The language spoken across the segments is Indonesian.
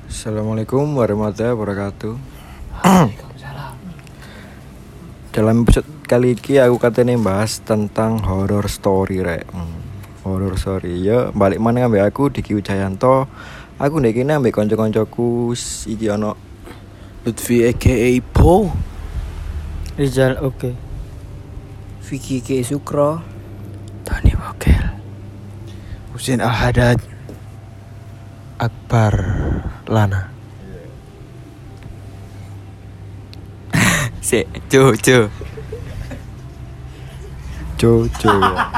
Assalamualaikum warahmatullahi wabarakatuh. Waalaikumsalam. Dalam episode kali ini aku katanya bahas tentang horror story rek. Horror story ya balik mana ngambil aku Diki Wijayanto. Aku ndek kene ambek kanca-kancaku iki ono Lutfi aka Po. Rizal oke. Vicky K Sukro. Tani Wakil. Husin Al-Haddad. Akbar Lana. Jojo. Jojo.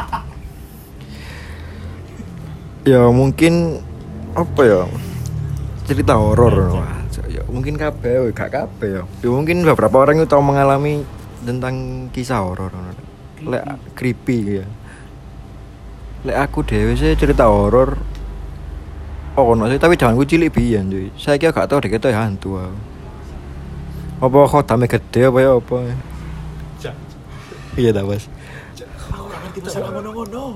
Ya mungkin apa ya? Cerita horor ya mungkin kabeh gak kabeh ya. Ya mungkin beberapa orang itu tahu mengalami tentang kisah horor. Lek creepy ya. Lek aku dhewe sih cerita horor. Oh, no, tapi jangan gue cilik biyen cuy. Saya kira gak tau deh kita hantu aku. Apa khodame gede apa ya apa. Iya dah, Mas. Kita salah ngono-ngono.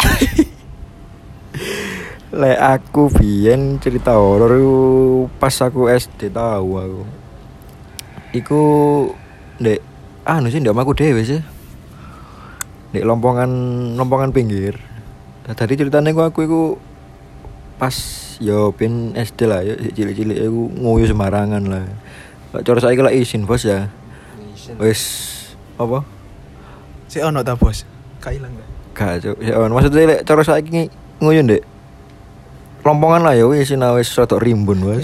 Lek aku biyen cerita horor pas aku SD tahu aku. Iku ndek sih ndek omahku dhewe sih. Ndek lompongan pinggir. Tadi ceritanya aku iku pas yo pin SD lah yo cilik-cilik aku nguyu sembarangan lah. Cara saiki lek izin bos ya. Wis apa? Si ono ta, Bos? Ka ilang gak? Gak, Cuk. Ya maksudnya lek cara saiki nguyu ndek lompongan lah ya wis wis rada rimbun bos.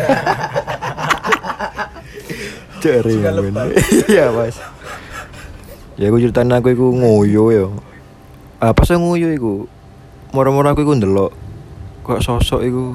Cek rimbun. Iya, Mas. Ya aku ceritain aku iku nguyu yo. Apa sih nguyu iku? Moro-moro aku iku ndelok kok sosok iku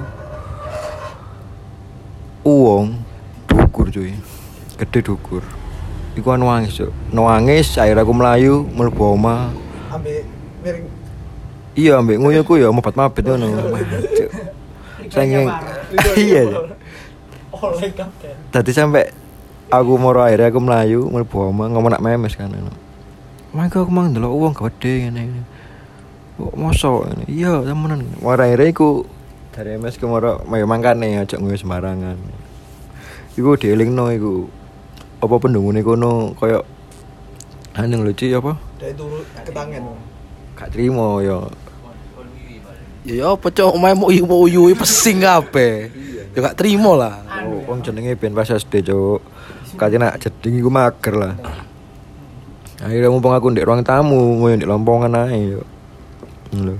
uwong dukur cuy. Gede dukur. Iku nangis, Cuk. Nangis akhirnya aku melayu mlebu omah. Ambek miring. Iya, ambek nguyuku ya mabet-mabet ngono. Cuk. Saking iya. Oleh kapten. Tadi sampai aku moro akhirnya aku melayu mlebu omah ngomong nak memes kan. Mangga aku mang ndelok uwong gede ngene. Kok mosok ngene. Iya, temenan. Moro akhirnya iku dari MS ke moro mangkane aja ngoyo sembarangan. Iku dielingno iku. Apa pendungune kono koyo anjing lucu apa? Dari turun ke tangan. Gak trimo ya. Ya apa cok omae mau uyu pesing kabeh. Ya gak trimo lah. Oh, wong jenenge ben pas SD, Cuk. Katene nak jeding iku mager lah. Akhirnya mumpung aku ndek ruang tamu, ngoyo ndek lompongan ae yo. Lho.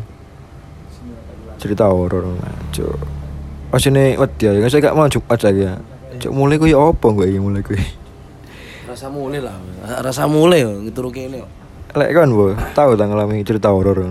Cerita horor, Cuk. Asine wedi ya, saya gak mau Jumat lagi ya. Cuk mulai ku ya apa kok iki mulai ku. Rasa mulai lah. Rasa mulai yo turu kene yo. Lek kan Bu, tahu tak ngalami cerita horor.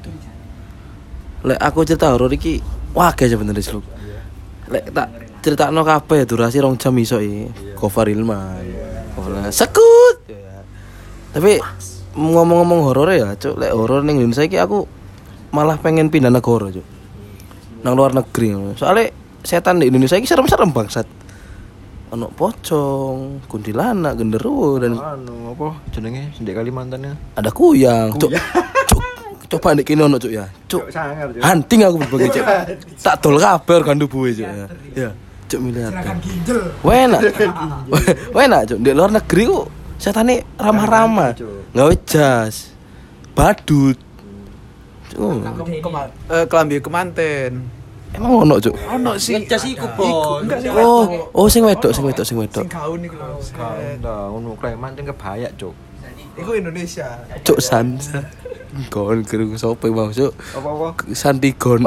Lek aku cerita horor iki wage sebenarnya Sluk. Lek tak critakno kabeh durasi 2 jam iso iki. Gofar Ilman. Ora sekut. Tapi ngomong-ngomong horor ya, Cuk, lek horor ning Indonesia iki aku malah pengen pindah negara, Cuk. Nang luar negeri. Soalnya setan di Indonesia iki serem-serem bangsat. Ono pocong, kuntilanak, genderuwo dan Apa jenenge sendek Kalimantan ya? ada kuyang. Cuk. Coba nek kene ono, Cuk ya. Cuk. Hunting aku berbagai, Cuk. Tak dol kabeh gandu buwe, Cuk ya. Ya, Cuk miliar. Wena. Wena, Cuk. Di luar negeri kok setane ramah-ramah. Gawe jas. Badut. Cuk. Kelambi kemanten. Emang ono, Cuk. Ono sih. Ngecas iku, Bos. Oh, sing wedok. Sing gaun iku lho. Enggak, ngono Kalimantan kebayak, Cuk. Iku Indonesia. Cuk Sansa. Kon kerung sopo mau, Cuk. Apa-apa? Santigon.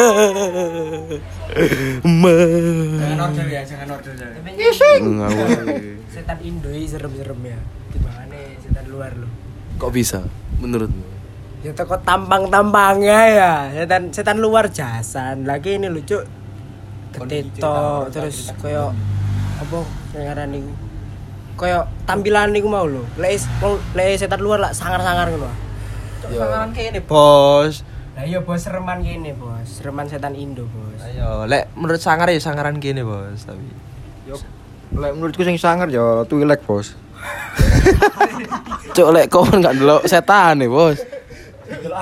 Jangan order ya. Setan Indo iki serem-serem ya. Timbangane setan luar lho. Kok bisa menurutmu? Ya teko tampang-tampangnya ya. Setan luar jasan. Lagi ini lucu. Ketetok terus koyo apa ngaran niku. Koyo tampilan niku mau lho. Lek setan luar lah sangar-sangar ngono. Sangaran kene, Bos. Lah iya Bos sereman kene, Bos. Sereman setan Indo, Bos. Ayo, lek menurut sangar ya sangaran kene, Bos, tapi. Yo, lek menurutku sing sangar ya Twi'lek, Bos. Cuk lek kon gak ndelok setan nih, Bos.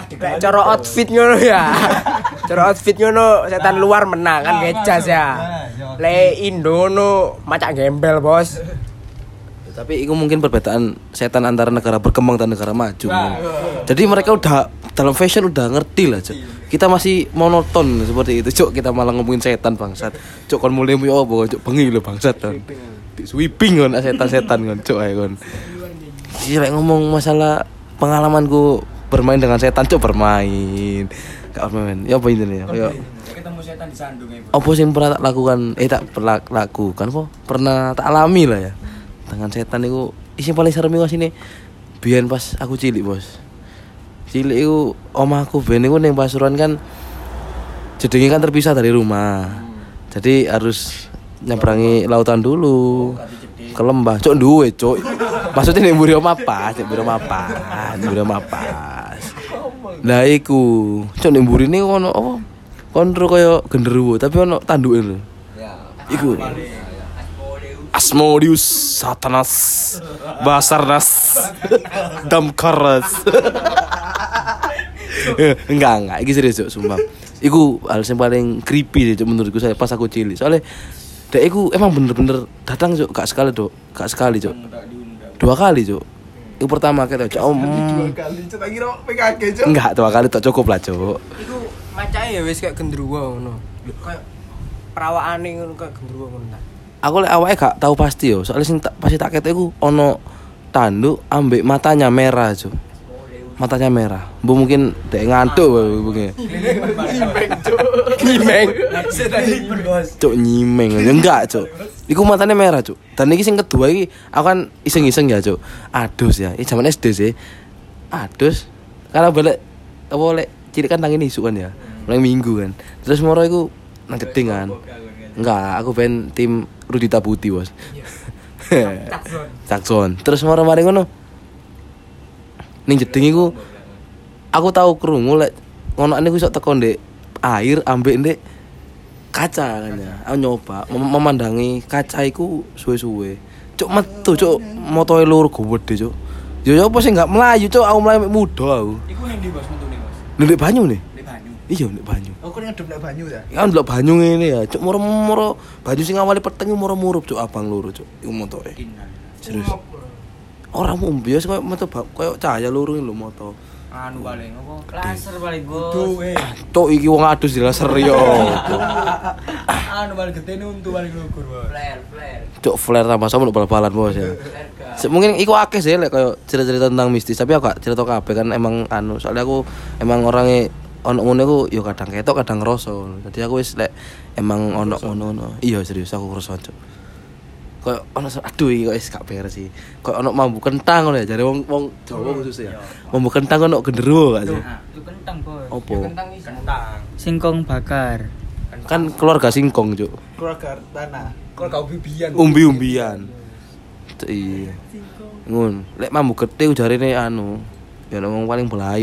Cara outfit ngono ya. Cara outfit ngono setan luar menang kan ngecas ya. Le Indono macak gembel, Bos. Tapi itu mungkin perbedaan setan antara negara berkembang dan negara maju. Jadi mereka udah dalam fashion udah ngerti lah, Cuk. Kita masih monoton seperti itu, Cuk. Kita malah ngomongin setan bangsat. Cuk kon mulai yo apa, Cuk, bengi lho bangsat. Di sweeping kon setan-setan kon, Cuk ae kon. Iki lek ngomong masalah pengalamanku bermain dengan setan, Cuk, bermain. Gak bermain. Ya apa intine ya? Kayak Ketemu setan di sandung ya. apa sih yang pernah tak lakukan? Tak lakukan kok. Pernah tak alami lah ya. Dengan setan itu isi paling serem iku sini. Biyen pas aku cilik, Bos. Cilik iku omahku ben iku ning Pasuruan kan jedenge kan terpisah dari rumah. Jadi harus nyebrangi lautan dulu. Ke lembah, Cuk duwe, Cuk. Maksudnya ning mburi omah pas, ning mburi omah pas. Lah iku, Cuk ning mburi ini ono apa? Kontro kaya genderuwo, tapi ono tanduke lho. Iku. Asmodeus, Satanas, Basarnas, Damkaras. Enggak, iki serius, Cuk, sumpah. Iku hal yang paling creepy sih, Cuk, menurutku saya pas aku cilik. Soalnya dek iku emang bener-bener datang, Cuk, gak sekali, Cuk. 2 kali, Cuk. Iku pertama kita, Cuk. 2 kali, Cuk, tak kira PKG, Cuk. Enggak, 2 kali tak cukup lah, Cuk. Iku macake ya wis kayak genderuwo ngono. Kayak perawakane ngono kayak genderuwo ngono ta. Aku lek awake gak tahu pasti yo, soalnya sing pasti tak ketok iku ono tanduk ambek matanya merah, Cuk. Matanya merah. Bu mungkin dek ngantuk mungkin. Nyimeng. Cuk nyimeng. Enggak, Cuk. Iku matanya merah, Cuk. Dan iki sing kedua iki aku kan iseng-iseng ya, Cuk. Adus ya. Ini zaman SD sih. Adus. Karena balik apa lek cilik kan tangi isu kan ya. Mulai minggu kan. Terus moro iku nang jeding kan. Enggak, aku pengen tim Rudita Putih, Bos. Cakson. Terus mari ngono. Ning jeding iku aku tahu krungu lek ngono niku iso teko ndek air ambek ndek kaca kan ya. Aku nyoba memandangi kaca iku suwe-suwe. Cuk metu, Cuk. Motoe loro gede, Cuk. Yo apa sih enggak melayu, Cuk. Aku melayu muda aku. Iku ning ndi, Bos, metune, Bos? Ndek banyu nih. Ning banyu. Iya, ndek banyu. Oh, kok ngedep nek banyu ya? Kan ndelok banyu ngene ya, Cuk, moro-moro banyu sing awale peteng moro-moro, Cuk, abang loro, Cuk. Iku motoke. Serius. Ora mumbi wis koyo metu koyo cahaya loro lho moto. Anu paling apa? Laser paling, Bos. Cuk, iki wong adus di laser yo. Anu paling gede untu paling lugur, Bos. Flare. Cuk, flare tambah sama bal-balan, Bos ya. Mungkin iku akeh sih lek koyo cerita-cerita tentang mistis, tapi aku gak cerita kabeh kan emang anu, soalnya aku emang orangnya ono ngono iku yo kadang ketok kadang ngeroso. Jadi aku wis lek emang ono ngono. Iya serius aku ngeroso, Cuk. Kayak ono aduh iki kok wis gak beres sih. Kayak ono mambu kentang ngono ya, jare wong Jawa khusus ya. Mambu kentang ono genderuwo gak sih? Itu kentang, Bos. Opo? Kentang. Singkong bakar. Kan keluarga singkong, Cuk. Keluarga tanah. Keluarga ubi-ubian. Umbi-umbian. Iya. Ngun, lek mambu gede jarene anu, ya wong paling belayu.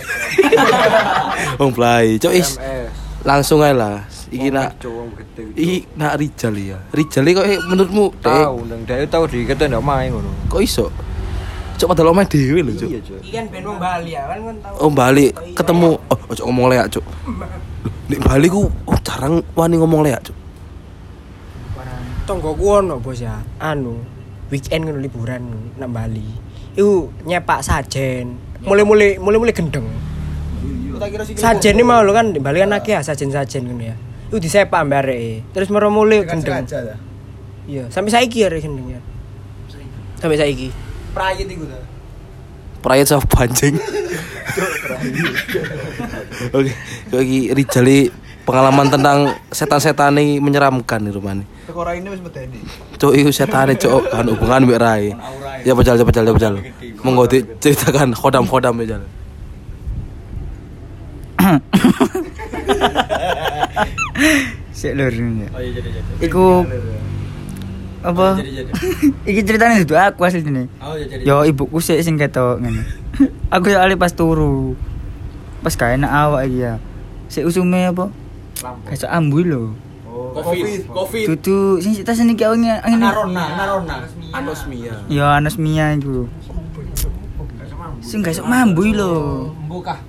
Wong belayu, Cuk is. Langsung ae lah. Iki nak nak Rijal ya. Rijal iki kok menurutmu Tahu, nang dhek tahu dikete ndak main ngono. kok iso? Cuk padahal omah dhewe lho, Cuk. Iya, Cuk. Iki kan ben wong Bali ya, kan tahu. Oh, Bali ketemu. Oh, ojo ngomong leak, Cuk. Nek Bali ku jarang wani ngomong leak, Cuk. Tonggoku ono, Bos ya. Anu, weekend ngono liburan nang Bali. Iku nyepak sajen. Mulai gendeng. Sajen ini mau lo kan di Bali kan akeh ya sajen-sajen ngono ya. Iku disepak mbak areke. Terus mulai gendeng. Iya, sampai saiki arek gendeng ya. Sampai saiki. Prayit iku ta. Prayat sama pancing. Oke, iki Rijal pengalaman tentang setan-setan ini menyeramkan di rumah nih. Tekora ini wis medeni. Cuk iku setane, Cuk, kan hubungan mbek Rai. Ya pejal. Monggo diceritakan khodam pejal. Sik lur. Iku apa? Iki ceritane itu aku asline. Yo ibuku sik sing ketok ngene. Aku yo ale pas turu. Pas gak enak awak iki ya. Sik usume apa? Kayak ambu lho. Covid. Dudu sing tas niki angin. Narona. Anosmia. Yo anosmia iku. Sing gak iso mambu lho. Mbukah.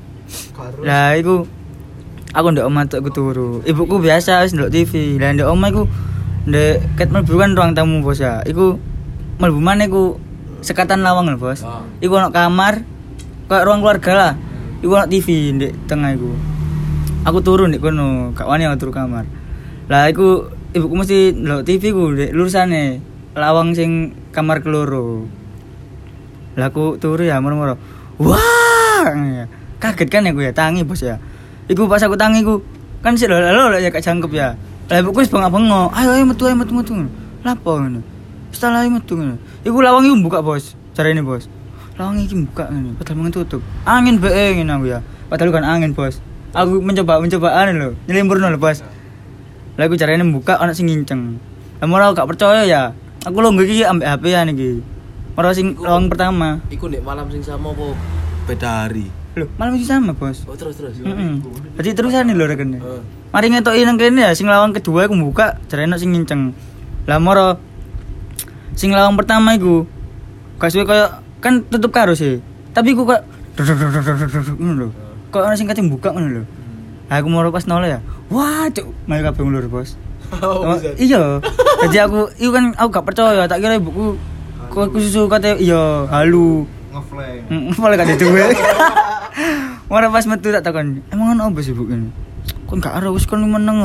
Lah iku aku ndak omah tok turu. Ibuku biasa wis ndelok TV. Lah ndak omah iku Ndek ket mlebu kan ruang tamu bos ya. Iku mlebu maneh iku sekatan lawang lho bos. Iku ono kamar kayak ruang keluarga lah. Iku ono TV ndek tengah iku. Aku turun ndek kono, gak wani aku turu kamar. Lah iku ibuku mesti ndelok TV ku ndek lurusane lawang sing kamar keloro. Lah aku turu ya moro-moro. Wah! Kaget kan aku ya tangi bos ya. Iku pas aku tangi ku kan sik lho ya gak jangkep ya. Lah ibuku wis bengak-bengok. Ayo metu. Lapo ngono. Setelah metu ngono. Iku lawang iku buka bos. Carane bos. Lawang iki buka ngene, padahal mengen tutup. Angin bae ngene aku ya. Padahal kan angin bos. Aku mencoba anu lho, nyelimpurno lho bos. Lah aku carane buka ana sing nginceng. Lah ora gak percaya ya. Aku longgo iki ambek HP-an iki. Ora sing lawang pertama. Iku nek malam sing sama apa beda hari? Loh, malam sih sama bos. Oh terus. Jadi terusan lho rekene. Mari ngetoki nang kene ya sing lawang kedua aku buka, jarene sing nginceng. Lah moro sing lawang pertama iku gak suwe koyo kan tutup karo sih. Tapi iku kok ngono lho. Kok ana sing kate buka ngono lho. Lah aku moro pas nol ya. Wah, cuk, mari kabeh ngulur, bos. Oh, iya. Jadi aku iku kan aku gak percaya, tak kira ibuku kok susu kate iya halu. Ngeflek kate duwe. Ora pas metu tak takon, emang ono apa sih Bu ini? Kok gak ero wis kon meneng.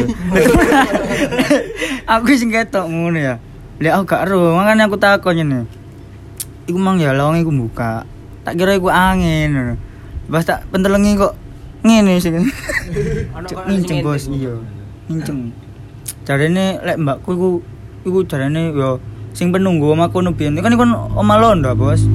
Aku sing ketok ngono ya. Lek aku gak ero, makane aku takon ngene. Iku mang ya lawang iku buka. Tak kira iku angin. Pas tak pentelengi kok ngene sih. Nginceng bos, iya. Nginceng. Jarene lek mbakku iku jarene yo sing penunggu omahku no biyen. Kan iku omah Londo, bos.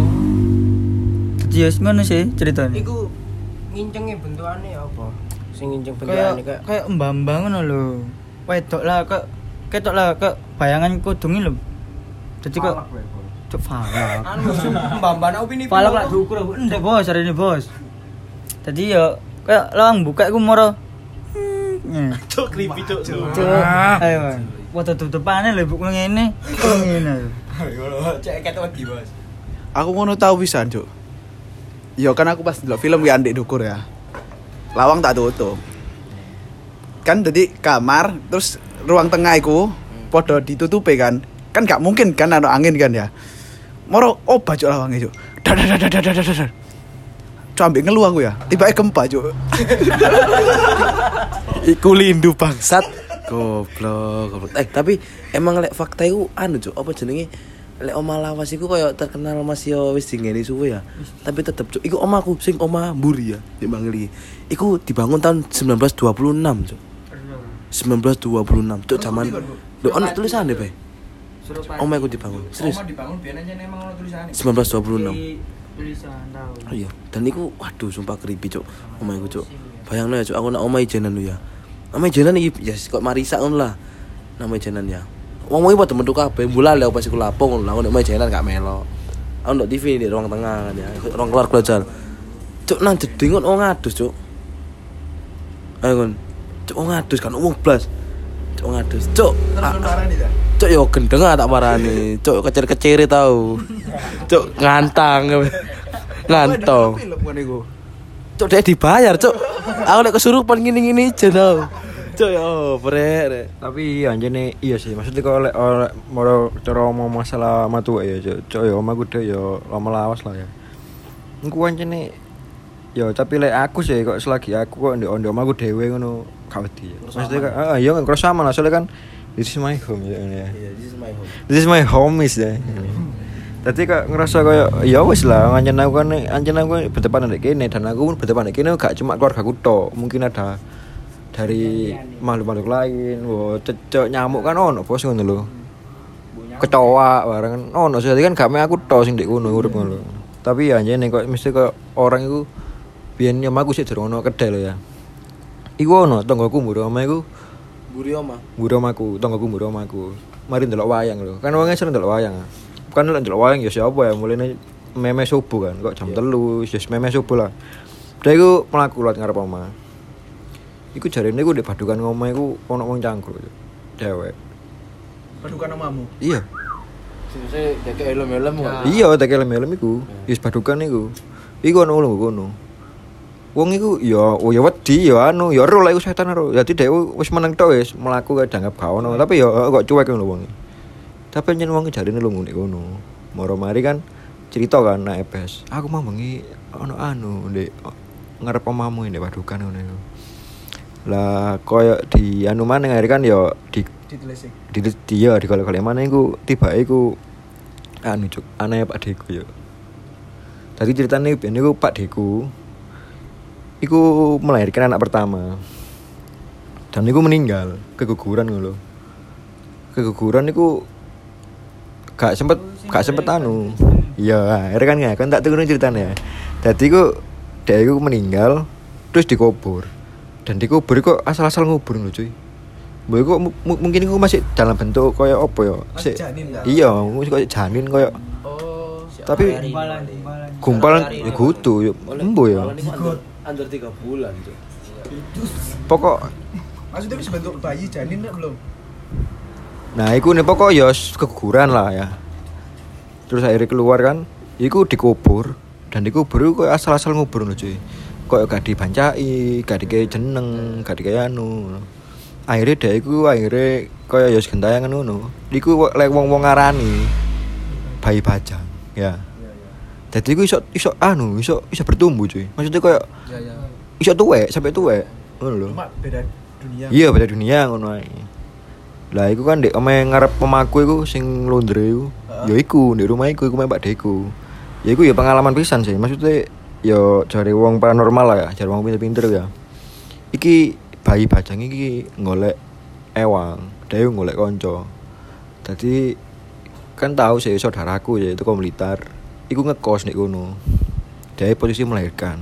Yes, ngono sih ceritane. Iku ngincenge bentukane apa? Sing nginceng bentukane kayak mbambang ngono lho. Wedok lah kok ketok lah kok bayangan kudunge lho. Dadi kok cuk falak. Anu mbambane opini. Falak lak diukur ndek bos jarene bos. Dadi yo kayak lawang buka iku moro. Cuk creepy cuk. Ayo. Foto tutupane lho ibuku ngene. Ngene. Cek ketok wedi, Bos. Aku ngono tau pisan, Cuk. Ya kan aku pas ndelok film ki andek dukur ya. Lawang tak tutup. Kan dadi kamar terus ruang tengah iku padha ditutupi kan. Kan gak mungkin kan ana angin kan ya. Moro obah Cuk lawange Cuk. Dadadadadadadadad. Cuk ambek ngelu aku ya. Tiba-tiba gempa Cuk. Iku lindu bangsat. Goblok. Tapi emang lek fakta iku anu Cuk, apa jenenge? Lek omah lawas iku koyo terkenal Mas yo wis dingeni suwe ya. Tapi tetep Cuk, iku omahku sing omah mburi ya, di Mangli. Iku dibangun tahun 1926 Cuk. 1926 Cuk zaman. Lho ono tulisane Pak. Omah iku dibangun. Serius. Omah dibangun biyen aja emang ono tulisane. 1926. Tulisan tahu. Iya, dan iku waduh sumpah creepy Cuk. Omah iku Cuk. Bayangno ya Cuk, aku nak omah ijenan lu ya. Omah ijenan iki ya kok marisa ngono lah. Nama ijenan ya. Wong iki padha metu kabeh, mbula lek pas iku lapo ngono lah, nek omah ijenan gak melo. Aku ndok TV di ruang tengah kan ya. Ruang keluar belajar. Cuk nang jeding kon ngadus Cuk. Ayo kon. Cuk ngadus kan wong blas. Cuk ngadus. Cuk. Cuk yo gendeng tak parani. Cuk kecer-kecere tau. Cuk ngantang. Ngantong. Film kan iku. Cuk dia dibayar Cuk. Aku lek kesurupan ngene-ngene aja tau. Cuk yo brek. Tapi anjene iya sih, maksudnya kalau oleh mau cara mau masalah matu ya, cok ya omahku deh ya lama lawas lah ya. Engko anjene ya tapi lek aku sih kok selagi aku kok ndek omahku dhewe ngono gak wedi. Maksudnya kan ya kan cross sama lah soalnya kan this is my home ya. Iya, this is my home. This is my home is ya. Tadi kok ngerasa kayak ya wis lah anjen aku berdepan ndek kene dan aku pun berdepan ndek kene gak cuma keluargaku tok, mungkin ada dari makhluk-makhluk lain, cecok nyamuk kan ono bos ngono lho. Kecoa bareng kan ono, jadi kan gak aku tok sing ndek kono urip ngono. Tapi ya anjene kok mesti kok orang iku biyen nyamaku sik durung ono kedai lho ya. Iku ono tanggoku mburi omah iku. Mburi omahku, tanggoku mburi omahku. Mari ndelok wayang lho. Kan wong sering ndelok wayang. Bukan ndelok wayang ya siapa ya mulane meme subuh kan kok jam 3 wis meme subuh lah. Dia iku mlaku lewat ngarep omah. Iku jarene iku ndek badukan ngomah iku ono wong cangkruk. Dewek. Padukan omahmu. Iya. Sing dek elem-elem kok. Iya, tak elem-elem iku. Wis badukan iku. Iku ono lho kono. Wong iku ya oh ya wedi ya anu ya ro lek setan ro. Dadi dhek wis meneng tok wis mlaku kae dianggap gak ono, tapi ya kok cuek ngono wong. Tapi nyen wong jarine lu ngene ngono. Moro mari kan cerita kan nek ebes. Aku mau bengi ono anu ndek ngarep omamu ndek Padukan ngono iku. Lah koyo di anu maneh kan ya di ditelisik. dia di kalau mana iku tiba iku anu cuk aneh Pak Deku yo. Tadi ceritanya iku Pak Deku iku melahirkan anak pertama. Dan iku meninggal keguguran ngono lho. Keguguran iku gak sempet anu. Iya, akhirnya kan tak turun ceritanya. Dadi iku dia iku meninggal terus dikubur. Dan dikubur kok asal-asal ngubur lho cuy. Mbok kok mungkin iku masih dalam bentuk koyo apa ya? Iya, koyo janin koyo. Oh, tapi gumpalan ya kudu ya embo ya. Under 3 bulan, Cuk. Pokok maksudnya bisa bentuk bayi janin enggak belum? nah iku nih pokok ya keguguran lah ya. Terus akhirnya keluar kan, iku dikubur dan dikubur iku asal-asal ngubur lho cuy. Koyo gak dibancai, gak dikei jeneng, gak dikei anu. Akhirnya dia iku koyo ya gentayangan ngono. Iku lek wong-wong ngarani bayi bajang, ya. Jadi iku iso bertumbuh cuy. Maksudnya koyo iso tuwek sampai tuwek ngono lho. Cuma beda dunia. Iya, beda dunia ngono ae. Lah iku kan ndek omahe ngarep pemaku iku sing Londre iku. Ya iku ndek rumah iku Pak Deku. Ya iku ya pengalaman pisan sih. Maksudnya ya cari wong paranormal lah ya, cari wong pinter-pinter ya. Iki bayi bajang iki golek ewang, dhewe golek kanca. Dadi kan tahu sih saudaraku ya itu Blitar. Iku ngekos nek kono. Dhewe posisi melahirkan.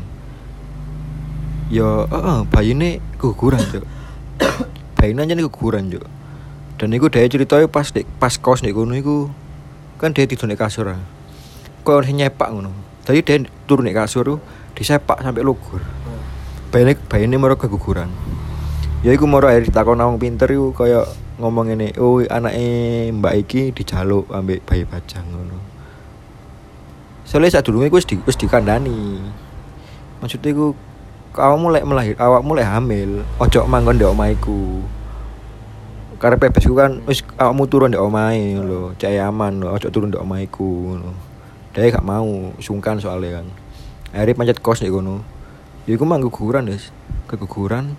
Ya, bayine keguguran, Cuk. Bayine aja keguguran, Cuk. Dan iku dhewe critane pas kos nek kono iku kan dhewe tidur nek kasur. Kok nyepak ngono. Dadi dhewe turun nek kasur disepak sampai lugur. Bayine maro keguguran. Ya iku moro akhir ditakon wong pinter iku kaya ngomong ngene, "Oh, anake Mbak iki dijaluk ambek bayi bajang ngono." Soale sadurunge iku wis dikandani. Maksudnya iku awakmu lek hamil, ojo manggon ndek omahku. Karep bebesku kan wis awakmu turun ndek omahe lho, cek aman lho, ojo turun ndek omahku ngono. Dhewe gak mau, sungkan soalnya kan. Akhirnya pancet kos ndek kono. Ya iku mang keguguran, Des. Keguguran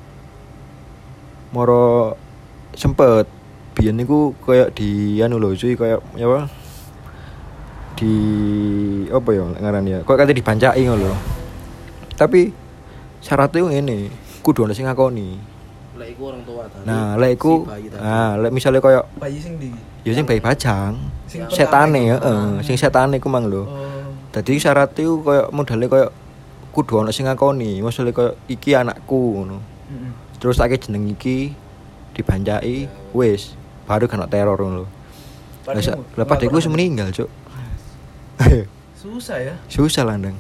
moro sempet biyen niku koyo di anu lho cuy koyo apa di apa ya ngaran ya koyo kate dibancaki ngono lho tapi syaratnya ngene kudu ana sing ngakoni Lek iku orang tua tadi. nah lek iku lek misale koyo Bayi sing ndi? ya sing bayi bajang Sing setane sing setane iku mang lho dadi syaratnya koyo modale koyo kudu ana sing ngakoni maksudnya koyo iki anakku ngono. Terus tak jeneng iki dibancai wis baru kena teror ngono lho. Lepas Deku wis meninggal, Cuk. Susah ya. Susah landang.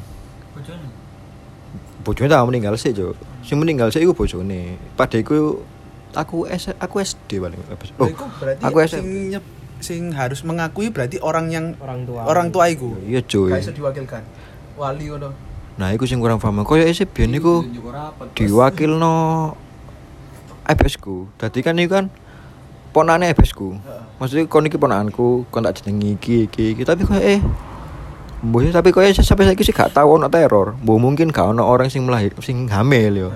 Bojone tak meninggal sih, Cuk. Sing meninggal sih iku bojone. Pak Deku aku SD paling. Oh, iku berarti aku sing harus mengakui berarti orang Orang tua iku. Iya, cuy. Gak iso diwakilkan. Wali ngono. Nah, iku sing kurang paham. Koyo isih biyen niku diwakilno ebesku. Dadi kan iku kan ponane ebesku. Maksudnya kon iki ponakanku, kon tak jenengi iki. Tapi koyo mbok tapi koyo sampai saiki sih gak tau ono teror. Mbok mungkin gak ono orang sing hamil yo.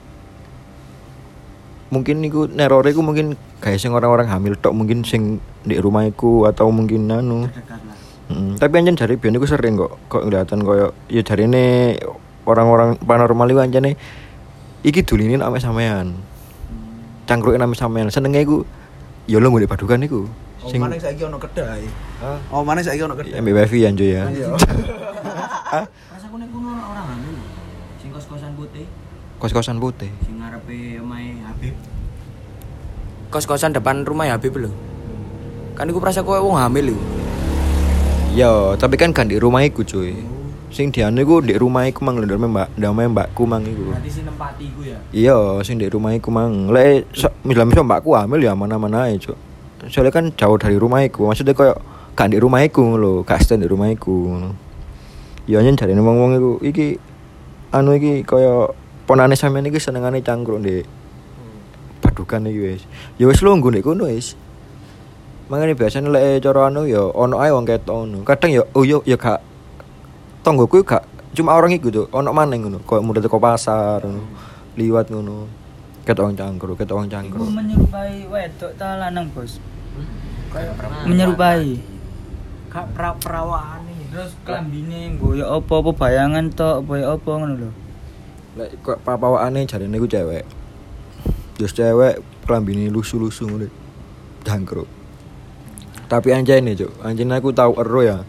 Mungkin niku nerore iku mungkin gawe sing orang-orang hamil tok mungkin sing di rumahku atau mungkin anu. Tapi anjen jare biyen iku sering kok kelihatan koyo ya jarine orang-orang paranormal iku anjene iki dulinin ame sampean. Cangkruke ame sampean. Senenge iku ya lo ngene Padukan iku. Sing mana saiki ono kedai. Oh, mana saiki ono kedai. Mbak Bevi anjo ya. Rasaku nek kono orang hamil. Sing kos-kosan putih, Kos-kosan putih. sing ngarepe omahe Habib. Kos-kosan depan rumah Habib lho. Kan iku prasa kowe wong hamil lho. Ya, tapi kan di rumah iku cuy. Sing diane iku di rumah iku mang lho ndame mbakku mang iku. Berarti sing nempati iku ya. Iya, sing di rumah iku mang. Lek misal mbakku hamil ya mana-mana ae, Cuk. Soalnya kan jauh dari rumah iku. Maksudnya koyo gak di rumah iku lho, gak stand di rumah iku ngono. Ya nyen jarene wong-wong iku iki anu iki koyo ponane sampean iki senengane cangkruk ndek padukan iki wis. Ya wis lungguh ndek kono wis. Mangane biasane lek cara anu ya ono ae wong ketok ngono. Kadang ya oh ya gak tonggoku gak cuma orang iku tuh ono maneng ngono. Kok mudah teko pasar ngono. Liwat ngono. Ketok wong cangkruk. Iku menyerupai wedok ta lanang, Bos? Kayak menyerupai. Gak perawakane. Terus klambine nggo ya apa bayangan tok apa ya apa ngono lho. Lek kok papawakane jarene iku cewek. Terus cewek klambine lusu-lusu ngono. Cangkruk. Tapi anjene, Cuk. Anjene aku tau ero ya.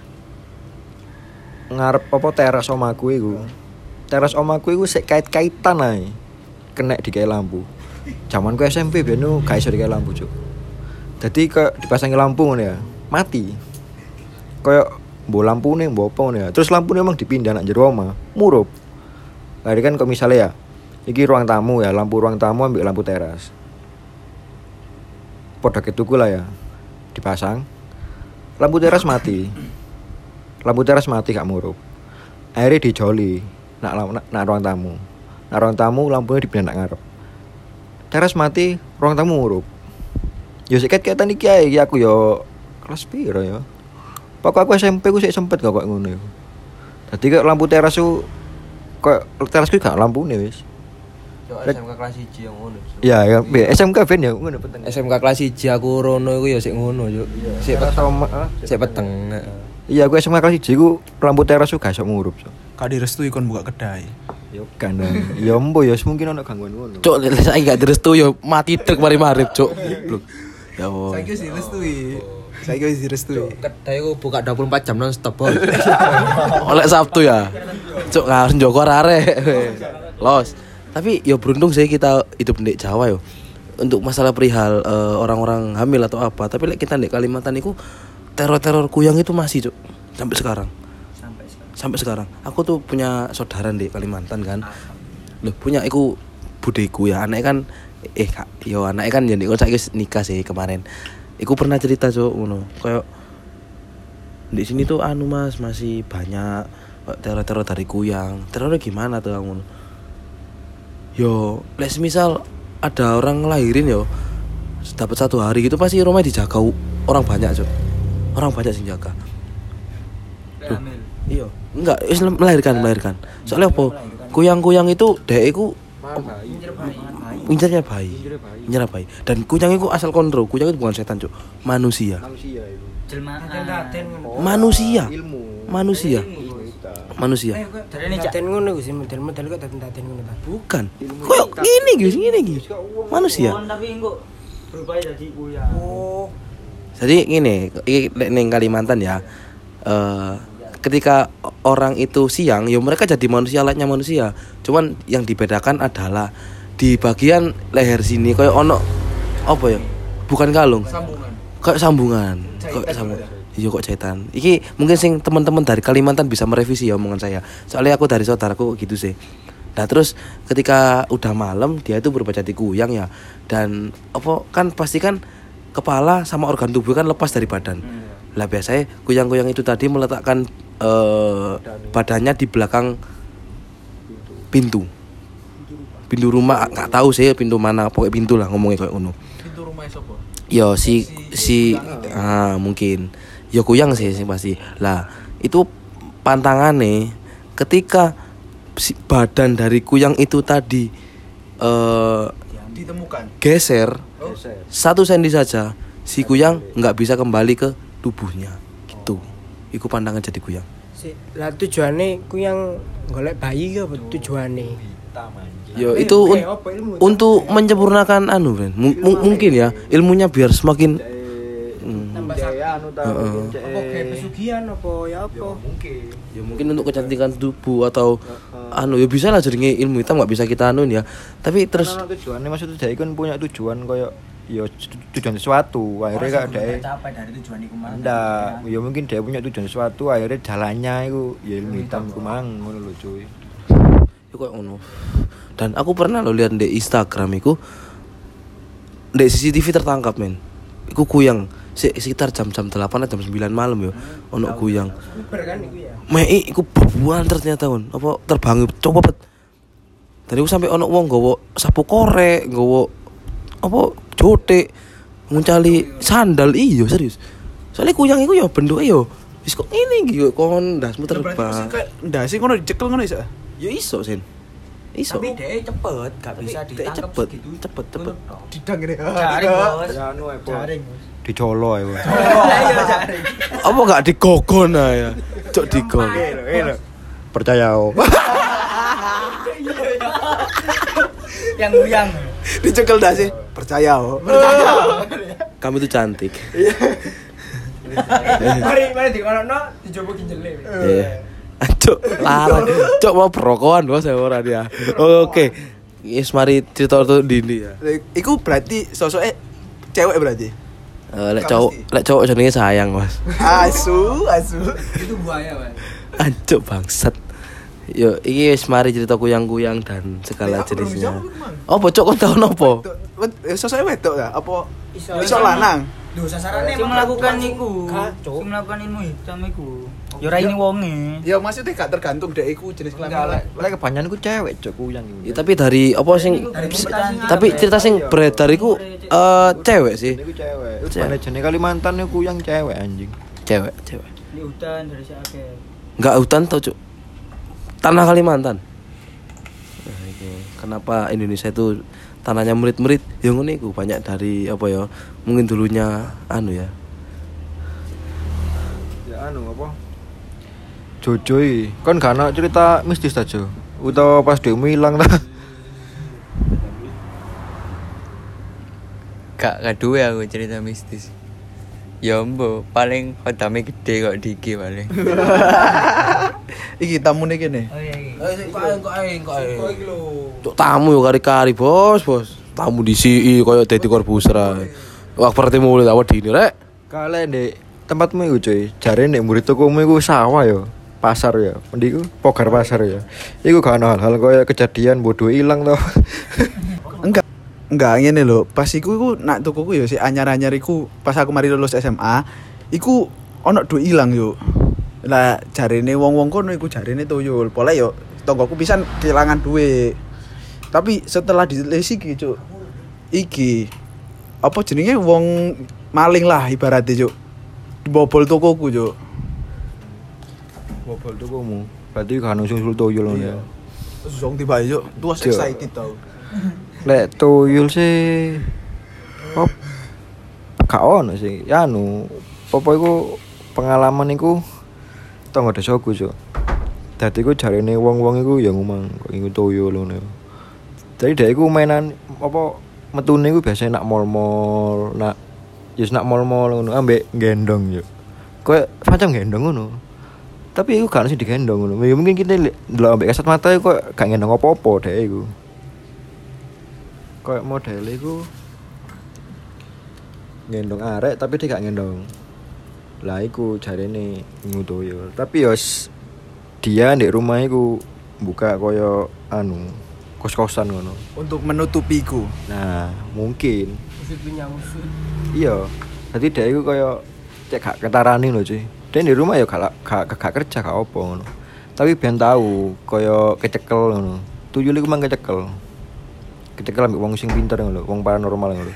Ngarep apa teras omaku iku. Teras omaku iku sik kait-kaitan ae. Kenek dikai lampu. Zamanku SMP ben gak iso dikai lampu, Cuk. Dadi kok dipasangi lampu ngono ya. Mati. Kayak mbok lampune mbok apa ngono ya. Terus lampune emang dipindah nang jero omah. Murup. Lah kan kok misalnya ya. Iki ruang tamu ya, lampu ruang tamu ambil lampu teras. Podok tuku lah ya. Dipasang. Lampu teras mati. Lampu teras mati gak murup. Akhirnya dijoli nak ruang tamu. Nak ruang tamu lampunya dipindah nak ngarep. Teras mati, ruang tamu murup. Yo seket-ketan iki ae aku yo kelas piro ya. Pokok aku SMP ku sik sempet kok ngono iku. Dadi kok lampu teras ku kok teras ku gak lampune wis. Yo SMK kelas 1 yang ngono. Ya, SMK ben ya ngono peteng. SMK kelas 1 aku rono iku ya sik ngono yo. Sik peteng. Iya, aku SMK kelas 1 ku lampu teras ku gak iso ngurup. Kak direstui kon buka kedai. Yo kan. Ya mbo ya mungkin ana gangguan ngono. Cuk, saiki gak direstui yo mati truk mari marip, Cuk. Ya Allah. Saiki wis direstui. Saiki wis direstui. Kedai ku buka 24 jam non stop, Bos. Oleh Sabtu ya. Cuk, harus njogo arek. Los. Tapi yo beruntung sih kita hidup di Jawa yo. Untuk masalah perihal orang-orang hamil atau apa, tapi kita di Kalimantan itu teror-teror kuyang itu masih, Cuk. Sampai sekarang. Aku tuh punya saudara di Kalimantan kan. Loh, punya iku budeku ya. Anaknya kan anaknya kan jadi saya nikah sih kemarin. Iku pernah cerita, Cuk, ngono. Kayak di sini tuh Mas masih banyak teror-teror dari kuyang. Terornya gimana tuh ngono? Yo, misal ada orang ngelahirin yo, dapat 1 hari gitu pasti rumah dijaga orang banyak, Cuk. Orang banyak sing jaga. Iya, enggak, melahirkan. Soalnya apa? Kuyang-kuyang itu dhek iku incernya bayi. Dan kuyang itu asal kontrol. Kuyang itu bukan setan, Cuk. Manusia. Manusia. Daten ngono Gus, model-model kok daten ngono ta. Bukan. Koyo ngene iki. Manusia. Tapi engko berubah jadi kuyang. Oh. Jadi ngene, iki ning Kalimantan ya. Ketika orang itu siang, ya mereka jadi manusia layaknya manusia. Cuman yang dibedakan adalah di bagian leher sini kayak ono apa ya? Bukan kalung. Kayak sambungan. Iya kok jahitan. Iki mungkin sing teman-teman dari Kalimantan bisa merevisi ya omongan saya. Soalnya aku dari saudaraku gitu sih. Nah terus ketika udah malam dia itu berubah jadi kuyang ya. Dan apa kan pasti kan kepala sama organ tubuh kan lepas dari badan. Lah biasanya kuyang-kuyang itu tadi meletakkan badannya di belakang pintu rumah, nggak tahu sih pintu mana, pokoknya pintu lah ngomongnya kayak ngono. Pintu rumah sapa? Yo mungkin yo kuyang sih pasti. Lah itu pantangannya ketika badan dari kuyang itu tadi ditemukan geser 1 senti saja, si kuyang nggak bisa kembali ke tubuhnya gitu. Iku pandangan jadi kuyang. Lah tujuane kuyang golek bayi apa tujuane? Yo itu untuk menyempurnakan Ren. Mungkin ya ilmunya biar semakin tambah apa kayak pesugihan apa ya apa? Ya mungkin untuk kecantikan tubuh atau ya bisa lah jadi ilmu hitam nggak bisa kita ya. Tapi terus tujuannya maksudnya dia kan punya tujuan kayak ya tujuan sesuatu akhirnya gak ada capai dari tujuan iku mang. Ndak, ya mungkin dia punya tujuan sesuatu akhirnya jalannya itu ya ilmu hitam iku mang ngono lho cuy. Iku koyo ngono. Dan aku pernah lo lihat di Instagram iku di CCTV tertangkap men. Iku kuyang sekitar jam-jam 8 atau jam 9 malam yo ono kuyang. Uber kan iku ya. Mei iku bebuan ternyata kon. Apa terbang coba Dan iku sampe ono wong nggawa sapu korek, nggawa apa jotek, nguncali sandal iya serius. Soalnya kuyang iku ya bentuke yo wis kok ngene iki yo kon ndasmu terbang. Ndase ngono dicekel ngono iso. Ya iso Sen. Iso. Tapi dia cepet, gak bisa ditangkap cepet, segitu. cepet. Didang ngene. Jaring bos. Jaring. Dicolo ya. Iya jaring. Apa gak digogon ya? Cok digon. Percaya oh. Yang goyang. Dicekel ndase. Percaya oh. Kamu itu cantik. Mari dikono dicoba kinjele. Iya. Cok, larang. Cok mau perokokan bos saya ora dia. Oke. Yes, mari cerita tuh Dini ya. Iku berarti sosoknya cewek berarti. Lek cowok jenenge sayang, Mas. Asu. Itu buaya, Mas. Ancuk bangsat. Yo, iki wis mari cerita kuyang-kuyang dan segala jenisnya. Oh, bocok kon tau nopo? Sosoknya wedok ta? Apa Iso lanang? Duh, sasarannya Sing melakukan iku. Sing melakukan ilmu hitam iku. Ya ora ini wonge. Ya maksudnya gak tergantung dek iku jenis kelamin. Lek kebanyakan ku cewek cok kuyang Ya, tapi dari apa sing tapi cerita sing beredar iku cewek sih. Niku cewek. Manajene Kalimantan niku kuyang cewek anjing. Cewek. Di hutan dari si akeh. Enggak hutan tau, Cuk. Tanah Kalimantan. Nah, iki. Kenapa Indonesia itu tanahnya merit-merit? Ya ngono iku banyak dari apa ya? Mungkin dulunya anu ya. Ya anu apa? Jojo iki. Kon gak ana cerita mistis ta, Jo? Utawa pas dhekmu ilang ta? Gak kadue aku cerita mistis. Ya mbok paling hodame gede kok diki paling. Iki tamune kene. Oh iya iki. Kok ae. Cuk tamu yo kari-kari, Bos. Tamu disi koyo dadi korbuser ae. Wak berarti mulai awak dini rek. Kale ndek tempatmu iku, cuy. Jare ndek murid tokomu iku sawah ya. Pasar ya. Endi iku? Pogar pasar ya. Iku gak ana hal-hal koyo kejadian bodoh ilang to. Enggak ngene lho. Pas iku nak tukuku ya si anyar-anyar iku pas aku mari lulus SMA, iku ono duit ilang yo. Lah jarene wong-wong kono iku jarene tuyul. Pole yo tonggoku pisan kehilangan duit. Tapi setelah dilesi iki, Cuk. Iki apa jenenge wong maling lah ibaratnya, Cuk. Dibobol tokoku, Cuk. Bobol tokomu. Berarti gak ono sing tuyul ngono ya. Zong tiba Cuk. Tuas Cuk. excited tau. Lek tuyul sih op gak ono sih. Ya anu, apa iku pengalaman iku tonggo desaku, Cuk. Dadi iku jarene wong-wong iku ya ngomong kok iku tuyul ngono. Jadi dhek iku mainan apa metune iku biasane nak mall-mall, nak mall-mall ngono ambek gendong yo. Kayak macam gendong ngono. Tapi iku gak sing digendong ngono. Ya mungkin kita ndelok ambek kasat mata iku kok gak gendong apa-apa dhek iku. Kayak model iku gendong arek tapi dia gak gendong. Lah iku jarene nguyul. Tapi yo dia di rumah iku buka koyo anu kos-kosan ngono. Untuk menutupiku. Nah, mungkin. Usut punya usut. Iya. Dadi dia iku koyo cek gak ketarani lho, cuy. Dia di rumah ya gak kerja gak opo ngono. Tapi ben tahu koyo kecekel ngono. Tuyul iku mang kecekel. Kecekel ambek wong sing pinter ngono, wong paranormal ngono.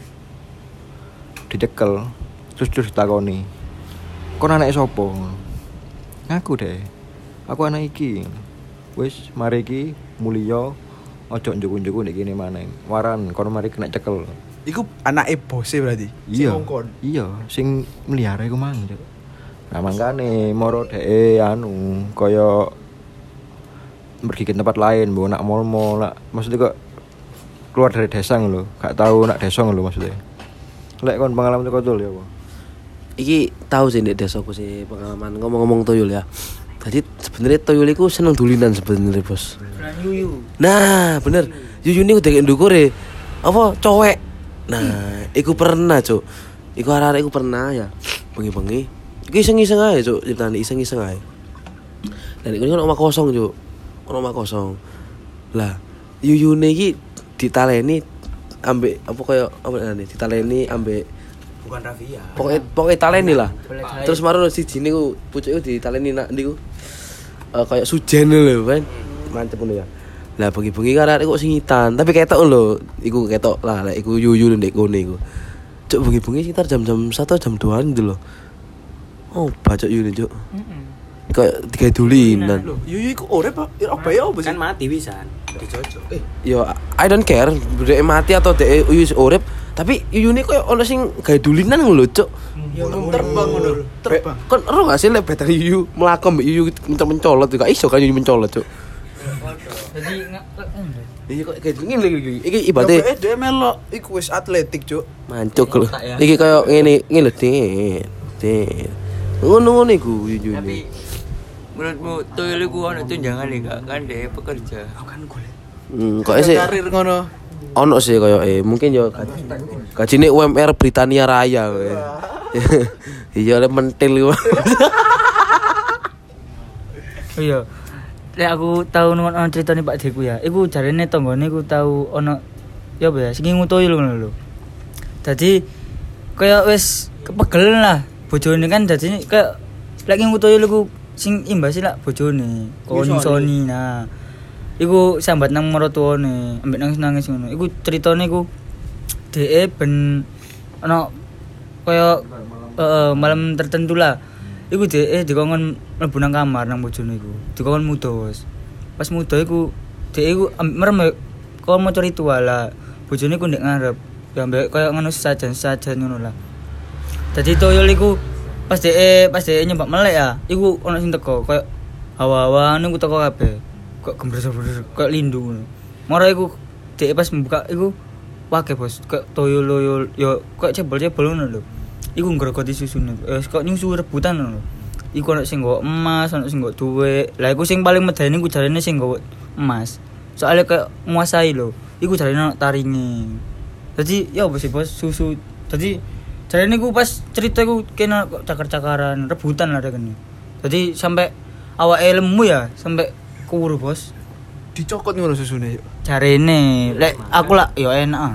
Dicekel. Terus ditakoni. Kon anake sapa ngono? Ngaku deh. Aku anak iki. Wis mari iki mulya ojo njuku-njuku nek kene maneh. Waran kon mari kena cekel. Iku anake bose berarti. Iya. Sing ngongkon. Iya, sing melihara iku mang. Cuk. Nah, mangkane moro dhek anu kaya pergi ke tempat lain, mbok nak mall-mall, nak maksudnya kok keluar dari desa lho, gak tahu nak desa lho maksudnya. Lek kon pengalaman teko Tul ya apa? Iki tahu sih ndek desaku sih pengalaman ngomong-ngomong tuyul ya. Jadi sebenarnya tuyul iku seneng dulinan sebenarnya, Bos. Yuyu. Nah, bener. Yuyu ini udah kayak ndukure. Apa cowek. Nah, iku pernah, Cuk. Iku arek-arek iku pernah ya. Bengi-bengi. Iku iseng-iseng ae, Cuk. Ceritane iseng-iseng ae. Dan iku kan omah kosong, Cuk. Omah kosong. Lah, Yuyune iki ditaleni ambek apa kaya apa ngene? Ditaleni ambek Bukan Rafia. Pokoknya taleni lah. Terus maru siji niku pucuke ditaleni nak niku. Kayak sujen lho, kan. Mantep ngono ya. Lah bengi-bengi kan arek kok singitan, tapi ketok lho, iku ketok lah, lek iku yuyu ndek kene iku. Cuk bengi-bengi sekitar jam-jam 1 jam 2 gitu loh. Oh, bacok yuyu cuk. Kayak tiga dulinan. Lho, yuyu iku urip apa ya apa sih? Kan mati pisan. Dicocok. Yo, I don't care, dhek mati atau dhek yuyu urip, tapi yuyune koyo ono sing gawe dulinan ngono lho, cuk. Ya Terbang ngono. Terbang. Kon ero gak sih lek batang yuyu mlaku mbek yuyu mencolot gak iso kan yuyu mencolot, cuk. Jadi Iya kok kayak gini lagi. Iki ibate Dia melok iku wis atletik, Cuk. mancuk lho. Iki koyo ngene lho, Dit. Ngono-ngono iku yuyu. Tapi menurutmu tuyul iku ono tunjangan gak? Kan dia pekerja. Kok sih Karir ngono. ono sih koyo mungkin yo gajine UMR Britania Raya kowe. Iya le mentil iku. oh iya. Lek aku tau ono critane Pak Deku ya. Iku jarene tanggane iku tau ono ya apa ya sing nguyul ngono lho. Dadi kaya wis kepegel lah bojone kan dadi kayak lek nguyul iku sing imbasi lak bojone kon nyusoni nah. Iku sambat nang maratuwane, ambek nangis-nangis ngono. Iku critane iku dhek ben ono kaya malam tertentu lah. Iku dhek dikongkon mlebu nang kamar nang bojone iku. Dikongkon mudos. Pas mudo iku dhek iku merem kok maca ritual lah. Bojone iku ndek ngarep. Ya ambek kaya ngono sajan ngono lah. Dadi toyol iku pas dhek nyembak melek ya, iku ono sing teko kaya hawa-hawa niku teko kabeh. Kok gembres-gembres kok lindu ngono. Moro iku dhek pas membuka iku wage bos kok toyol yo kok cebol-cebol ngono lho. Iku ngrogoti susune. Kok nyusu rebutan ngono. Iku ono sing nggo emas, ono sing nggo dhuwit. Lah iku sing paling medeni iku jarene sing nggo emas. Soale kok nguasai lho. Iku jarene ono taringe. Dadi ya bos susu. Dadi jarene iku pas cerita iku kena kok cakar-cakaran, rebutan lah kene. Dadi sampai awake lemu ya, sampai kuwur bos. Dicokot ngono susune yuk. Jarene, lek aku lah ya enak.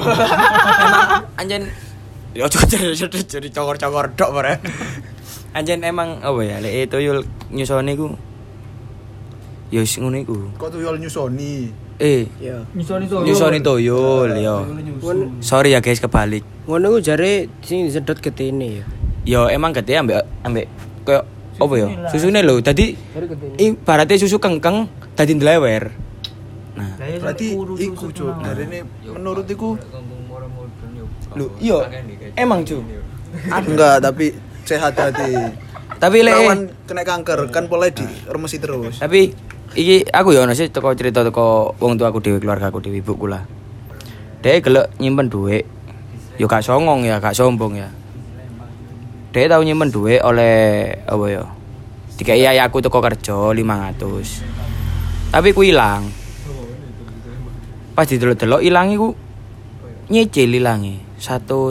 Emang anjen yo jadi cokor-cokor dok bare. Anjen emang apa ya lek tuyul nyusone iku ya wis ngono iku. Kok tuyul nyusoni. Ya. Nyusoni Tuyul yo. Sorry ya guys kebalik. Ngono ku jare sing disedot getene ya. Yo emang gede ambek koyo apa ya? Susune lho. Dadi ibaratnya susu kengkeng dadi ndlewer. Nah, Berarti iku, Cuk. Darene menurut iku lho iya emang cu. enggak, tapi sehat hati. Tapi Rawan kena kanker kan mulai diremesi terus. Tapi iki aku ya ono sih teko cerita teko wong tua aku dhewe, keluarga aku dhewe, ibuku lah. Dhek gelek nyimpen dhuwit. Yo gak songong ya, gak sombong ya. Dhek tau nyimpen dhuwit oleh apa ya? Dikai ayahku teko kerja 500. Tapi ku ilang. Pas didelok-delok ilang iku nyicil ilange. 1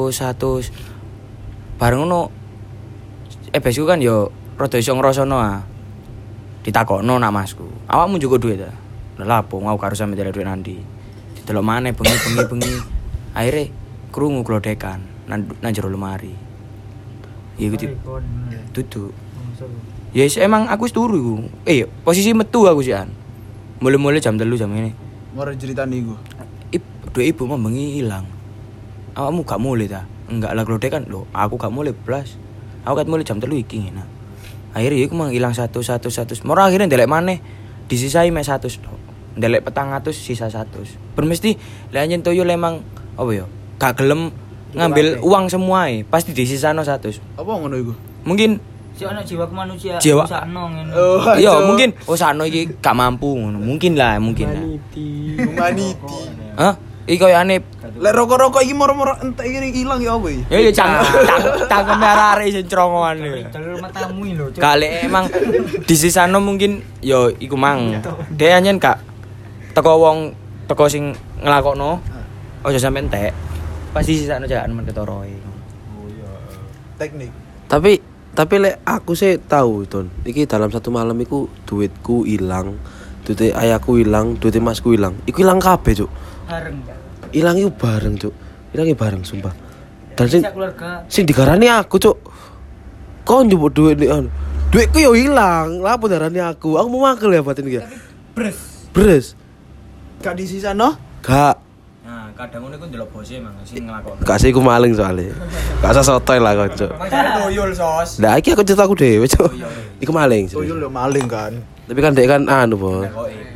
bareng ngono. Besku kan yo rada iso ngrasakno ah. Ditakokno nak masku. Awakmu njugo dhuwit ta? Lah apa mau karo sampe dhuwit nandi. Didelok maneh bengi. Akhire krungu glodekan nang jero lemari. Iku duduk. Ya emang aku wis turu iku. Posisi metu aku sih an. Mulai jam 3 jam ini. Mare ceritane iku. Dhuwit ibu mah bengi ilang. Awakmu gak mulai ta? Enggak lah glodekan lho. Aku gak mulai blas. Aku kat mulai jam 3 iki ngene. Akhirnya iku mang ilang 100. Moro akhirnya ndelek maneh disisai mek 100 tok. Ndelek 400 sisa 100. Bermesti lek anjen toyo emang apa ya? Gak gelem ngambil uang semua pasti disisano 100. Apa ngono iku? Mungkin si ana jiwa kemanusiaan Jiwa. sakno ngene. iya mungkin sakno iki gak mampu ngono. Mungkin lah. Humanity. Hah? Iki koyo aneh. Lek rokok-rokok iki moro-moro entek iki ilang ya apa iki? Ya cangkem arek sing crongoan iki. Jalur matamu iki lho. Cuk. Kali emang disisano mungkin yo iku mang. Dhek anjen gak teko sing nglakokno. Ojo sampe entek. Pasti sisano jalan men ketoroe. Teknik. Tapi lek aku sih tahu Don. Iki dalam satu malam iku duitku ilang, duit ayahku ilang, duit masku ilang. Iku ilang kabeh, Cuk. Bareng. Ilang iku bareng, Cuk. Ilangi bareng sumpah. Dan sing keluarga. sing digarani aku, Cuk. Kok njupuk duit nih anu. Duitku yo ilang. Lah apa darani aku? Aku mau makel ya batin iki. Bres. Beres. Gak di sisa no? Gak. Nah, kadang ngono iku ndelok bose emang sing nglakoni. Gak sih aku maling soalnya. Gak usah sotoy lah kocok. Maksudnya toyol sos. Lah iki aku cerita aku dhewe, Cuk. Iku maling. Tuyul yo maling kan. Tapi kan dek kan anu, Bos.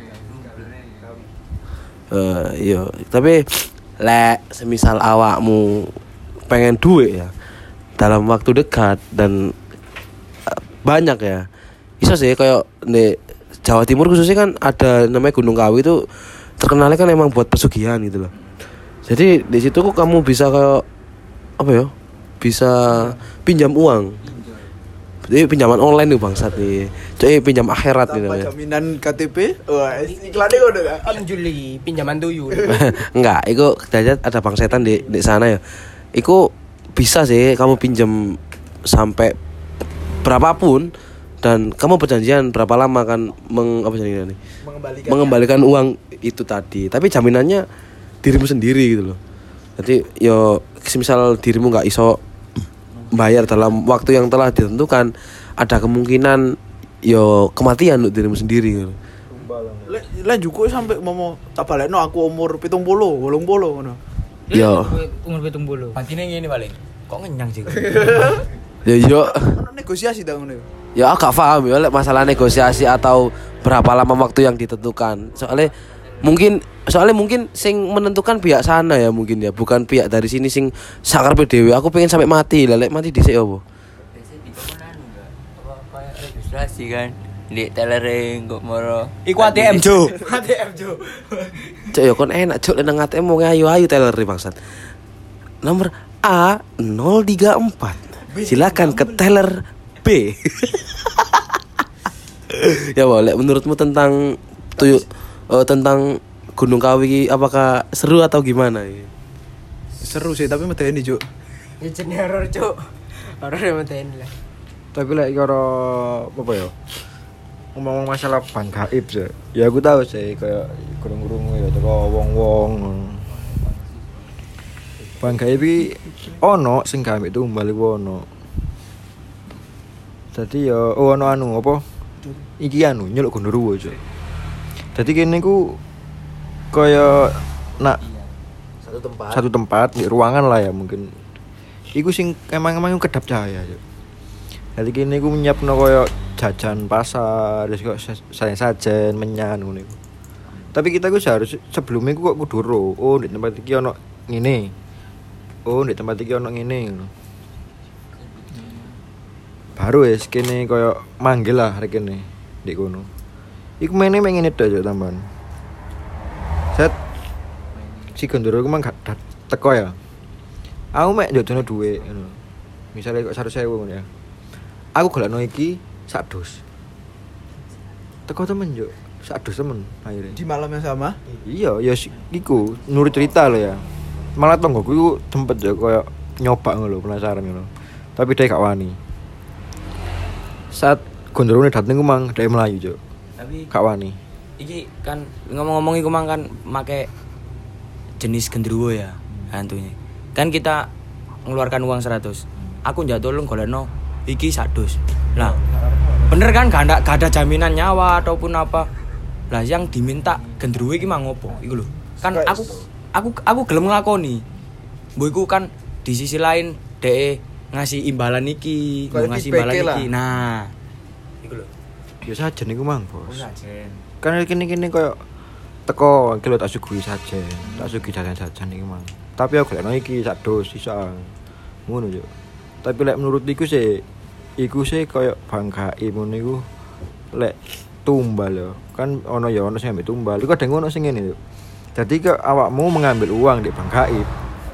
Iya, tapi lek semisal awakmu pengen duit ya dalam waktu dekat dan banyak ya. Bisa sih kayak di Jawa Timur khususnya kan ada namanya Gunung Kawi itu terkenalnya kan emang buat pesugihan gitu loh. Jadi di situ kok kamu bisa kayak apa ya? Bisa pinjam uang. Jadi pinjaman online nih bangsat nih. Jadi pinjam akhirat gitu Tanpa ya. jaminan KTP. Wah, iklannya udah gak? Juli pinjaman tuyul. Enggak, itu ada bang setan di sana ya. Iku bisa sih kamu pinjam sampai berapapun dan kamu perjanjian berapa lama kan mengembalikan uang itu tadi. Tapi jaminannya dirimu sendiri gitu loh. Jadi yo misal dirimu nggak iso bayar dalam waktu yang telah ditentukan, ada kemungkinan yo kematian untuk dirimu sendiri gitu. Lah juga sampai mau tak balekno aku umur 70, 80 ngono. Yo. Umur 70. Batine ngene paling. Kok ngenyang sih? Yo. Ono negosiasi ta ngono. Ya aku gak paham ya lek masalah negosiasi atau berapa lama waktu yang ditentukan. Soalnya mungkin sing menentukan pihak sana ya mungkin ya, bukan pihak dari sini sing sakar dhewe. Aku pengen sampai mati lah, lek mati dhisik opo? Biasanya dikon anu enggak? Apa kayak registrasi kan? Di telering kok moro. Iku ATM, Jo. ATM, Jo. Cuk ya kon enak cuk nang ATM mau ayu-ayu teller bangsat. Nomor A034. Silakan ke teller B. Ya boleh menurutmu tentang tentang Gunung Kawi apakah seru atau gimana ya? Seru sih tapi medeni, Cuk. Ya jenenge horor, Cuk. Horor ya meten lah. Tapi lek karo apa ya? Ngomong masalah bang gaib sih. Ya aku tahu sih kayak kurung-kurung ya teko wong-wong. Bang gaib iki ono sing gawe itu kembali ono. Dadi ya ono anu apa? Iki anu nyeluk gondoruwo, Cuk. Dadi kene ku kaya nak satu tempat di ruangan lah ya mungkin. Iku sing emang kedap cahaya, Cuk. Dadi kene ku nyiapno kaya jajan pasar, terus kok sajen menyan ngono iku. Tapi kita ku seharusnya sebelumnya ku kok kudu ro, oh di tempat iki ono ngene. Oh di tempat iki ono ngene ngono. Baru wis kene kaya manggil lah rek kene ndek kono. Iku mene mek ngene tok tambahan. Set si Gondoro ku mang gak teko ya. Aku mek njodono dhuwit ngono. Misale kok 100.000 ngono ya. Aku golekno iki sak dus. Teko temen yo, sak dus temen akhirnya. Di malam yang sama? Iya, ya iku nurut cerita lo ya. Malah tonggoku iku sempet ya koyo nyoba ngono lho, penasaran ngono. Tapi dia gak wani. Saat gondrone dateng ku mang dia melayu, Cuk. Tapi Gak wani. iki kan ngomong-ngomong iku mang kan make jenis gendruwo ya hantunya. Kan kita ngeluarkan uang 100. Aku njak tolong golekno iki 100. Lah, bener kan gak ada jaminan nyawa ataupun apa. Lah yang diminta gendruwo iki mang opo? Iku lho. Kan aku gelem nglakoni. Mbok iku kan di sisi lain dhek ngasih imbalan iki, ngasih imbalan iki. Nah, iku lho. Ya sajen iku mang, Bos. Sajen. Kan kene-kene koyo teko iki lho tak sugih sajen. Tak sugih jajan-jajan iki mang. Tapi aku golekno iki sak dos sisa. Ngono, Cuk. Tapi lek menurut iku sih koyo banggae ngono iku lek tumbal ya. Kan ono ya ono sing ambek tumbal. Iku ada ngono sing ngene, Cuk. Jadi ke awakmu mengambil uang di bank gaib.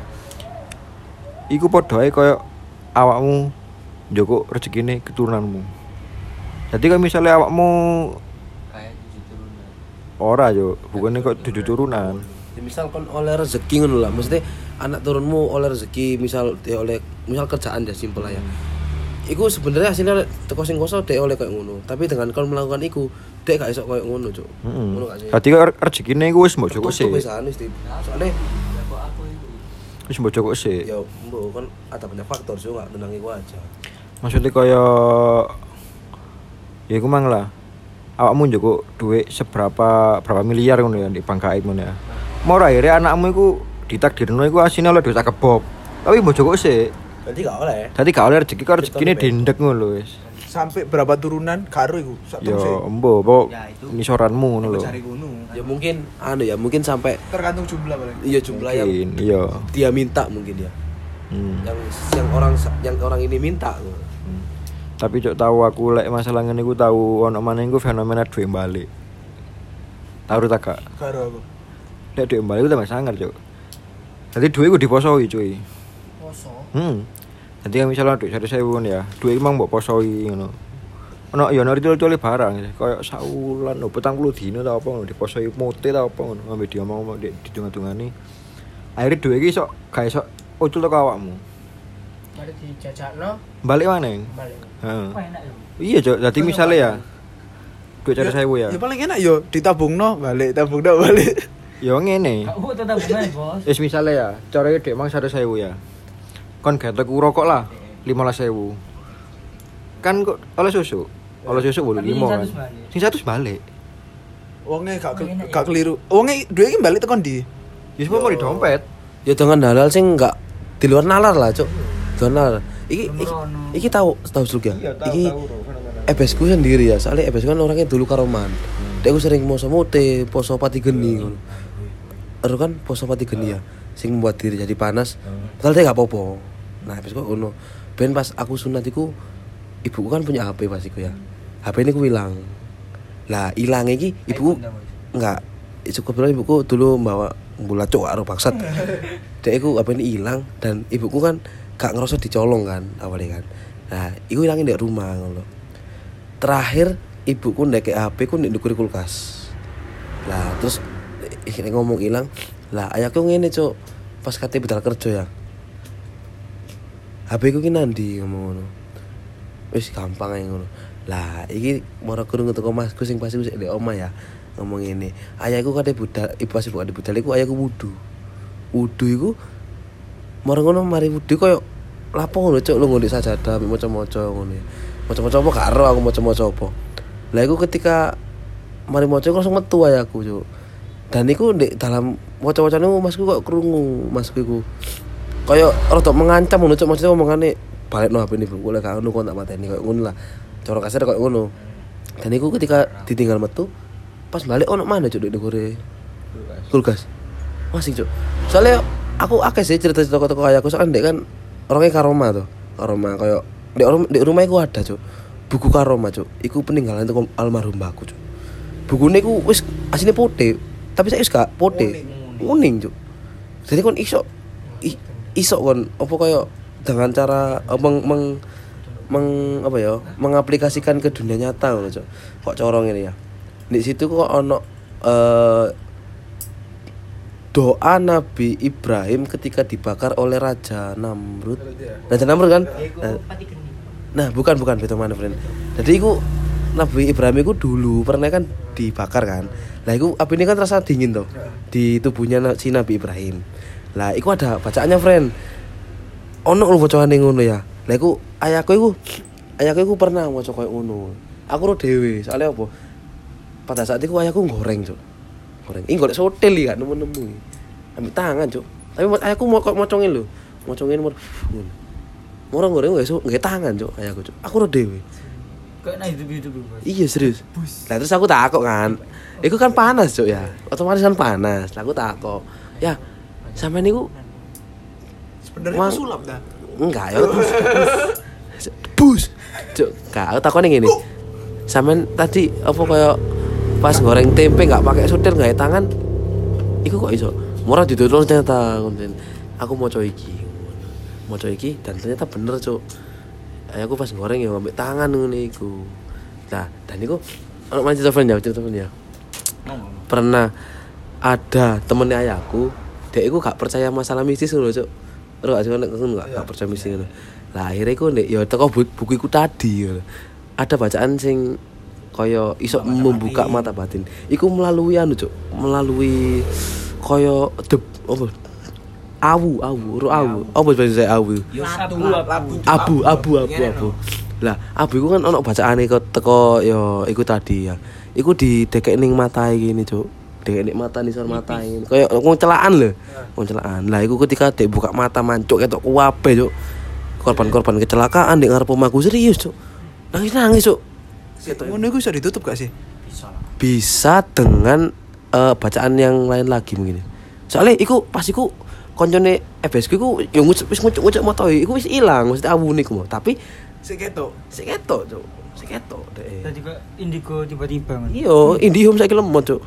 Iku padha ae koyo awakmu njoko rezekine keturunanmu. Jadi kalau misalnya awakmu Kayak 7 turunan. ora yo, bukannya kok 7 turunan. Ya, misal kon oleh rezeki ngono lah, maksudnya anak turunmu oleh rezeki misal dia oleh misal kerjaan ya simpel lah ya. Iku sebenarnya hasilnya teko sing koso dia oleh kayak ngono, tapi dengan kon melakukan iku dia gak iso kayak ngono, Cuk. Ngono gak sih? Dadi kok rezekine iku wis mbok joko sih. Wis anu sih. Soalnya Wis mbok joko sih. ya mbok kan ada banyak faktor sih gak tenang iku aja. Maksudnya kaya ya iku mang lah. awakmu njoko duit berapa miliar ngono ya di bank gaib ngono ya. Mau akhirnya anakmu iku ditakdirno iku asine oleh duit kebab. Tapi mbok joko sik. Berarti gak oleh. Dadi gak oleh rezeki karo rezekine dendek ngono lho wis. Sampai berapa turunan karo iku? Sak Ya terus embo pokok nisoranmu ngono lho. cari gunung. Ya mungkin mungkin sampai Tergantung jumlah paling. iya jumlah yang Mungkin iya. dia minta mungkin ya. Yang orang ini minta. Tapi cok tahu aku lek masalah ngene iku tahu ono maneh iku fenomena duit balik. Tahu tak gak? Karo aku. Lek duit balik itu tambah sangar cok. Jadi duit iku diposoi cuy. Poso. Jadi kan misalnya duit 1.000 ya, duit emang mbok posoi ngono. Ono ya ono ritual barang koyo saulan 40 dino ta apa ngono diposoi mote ta apa ngono ambek dia ngomong didungan-dungani. Akhirnya duit iki sok gak iso ucul teko awakmu. Mari dijajakno, Balik maneh. balik. Heeh. Wah, enak ya. Iya cok, jadi misalnya ya duit 1.000 ya. Ya paling enak yo ditabungno balik, tabungno balik. Ya ngene. Aku tetap benar, Bos. Wis misale ya, carane dhek mang 100.000 ya. Kon gak tuku rokok lah 15.000. Kan kok oleh susu. Oleh susu 85 kan. Sing 100 balik. Wonge gak keliru. Wonge duit iki balik tekan ndi? Ya semua mau di dompet. Ya dengan halal sih enggak di luar nalar lah, Cuk. Di luar nalar. Iki tahu Sluk ya. Iki EBS ku sendiri ya. Soalnya EBS kan orangnya dulu karoman. Dia ku sering poso mote, poso pati geni ngono. Ero kan poso pati geni ya. Sing membuat diri jadi panas. Padahal dia enggak apa-apa. Nah, EBS ku ngono. Ben pas aku sunat iku ibuku kan punya HP pas iku ya. HP ini ku hilang. Lah hilang iki ibuku enggak cukup bilang ibuku dulu bawa bola cok karo bangsat. Dek iku HP ini hilang dan ibuku kan gak ngerasa dicolong kan awalnya kan. Nah, iku hilangin di rumah ngono. Terakhir ibuku ndek HP ku ndek ndukur kulkas. Lah terus ngomong hilang. Lah ayahku ngene cok pas kate budal kerja ya. HP ku ki nandi ngomong ngono. Wis gampang ae ngono. Lah iki mara kurung teko masku sing pasti wis ndek omah ya. Ngomong ini ayahku kate budal ibu pas ibu kate budal iku ayahku wudu iku marang ngono mari wudu koyo lapo ngono cuk lu ngondek sajadah maca-maca ngono maca-maca apa gak ero aku maca-maca apa lah iku ketika mari maca iku langsung metu ayahku cuk dan iku ndek dalam maca-macane masku kok krungu masku iku koyo rada mengancam ngono cuk maksudnya omongane balekno HP ini Bu lek gak ngono kok tak mateni koyo ngono lah cara kasar koyo ngono dan iku ketika ditinggal metu pas balik ono mana cuk ndek gore kulkas masih cuk soalnya aku akeh sih cerita-cerita toko ayahku soalnya ndek kan orangnya karoma koyo ndek rumah iku ada cuk buku karoma cuk iku peninggalan teko almarhum mbakku cuk bukune iku wis asline putih tapi saya wis gak putih kuning cuk jadi kon iso kon apa koyo dengan cara mengaplikasikan ke dunia nyata ngono cuk kok corong ini ya di situ kok ono doa Nabi Ibrahim ketika dibakar oleh Raja Namrud kan nah bukan betul mana friend jadi iku Nabi Ibrahim iku dulu pernah kan dibakar kan lah iku api ini kan terasa dingin tuh di tubuhnya si Nabi Ibrahim lah iku ada bacaannya friend ono lu bacaan ngono ya lah iku ayahku iku pernah maca koyo ngono aku ro dhewe soalnya apa pada saat itu ayahku goreng cuk ini golek sotel ya nemu ambil tangan cuk tapi ayahku mau mocongin lho mocongin orang goreng nggak tangan cuk ayahku cuk aku udah dewe Kayak nah hidup iya serius lah terus aku takut kan itu kan panas cuk ya otomatis kan panas lah aku takut ya sampe niku sebenarnya sulap dah enggak ya bus cuk aku takutnya gini sampe tadi apa kayak pas goreng tempe nggak pakai sotir nggak tangan, iku kok iso murah ditutur ternyata konten. Aku mau coba iki dan ternyata bener cuk. Aku pas goreng ya ngambil tangan ngene iku. Nah dan iku ono manci telepon ya. Pernah ada temennya ayahku, dia iku gak percaya masalah mistis lho cuk. Ero gak percaya mistis ngono. Lah akhirnya iku ndek ya teko buku iku tadi. Ada bacaan sing kaya iso membuka mata batin. Iku melalui anu cuk, melalui kaya awu. Apa bahasa awu? Yo satu Abu. Lah, abu iku kan ono bacaane teko yo iku tadi ya. Iku didekek ning matae gini, Cuk. Dekek ning mata nisor matae. Kayak wong celaan lho. Wong celaan. Lah iku ketika dek buka mata mancuk ketok kuwabe, Cuk. Korban-korban kecelakaan di ngarep omahku serius, Cuk. Nangis, Cuk. Ngono iku iso ditutup gak sih? Bisa dengan bacaan yang lain lagi mungkin. Soalnya iku pas iku koncone FBS ku iku yo wis ngucuk motoe iku wis ilang mesti awune ku. Tapi Sik ketok, Cuk. Sik ketok deh. Tadi kok indigo tiba-tiba. Iya, Indihome saiki lemot, Cuk.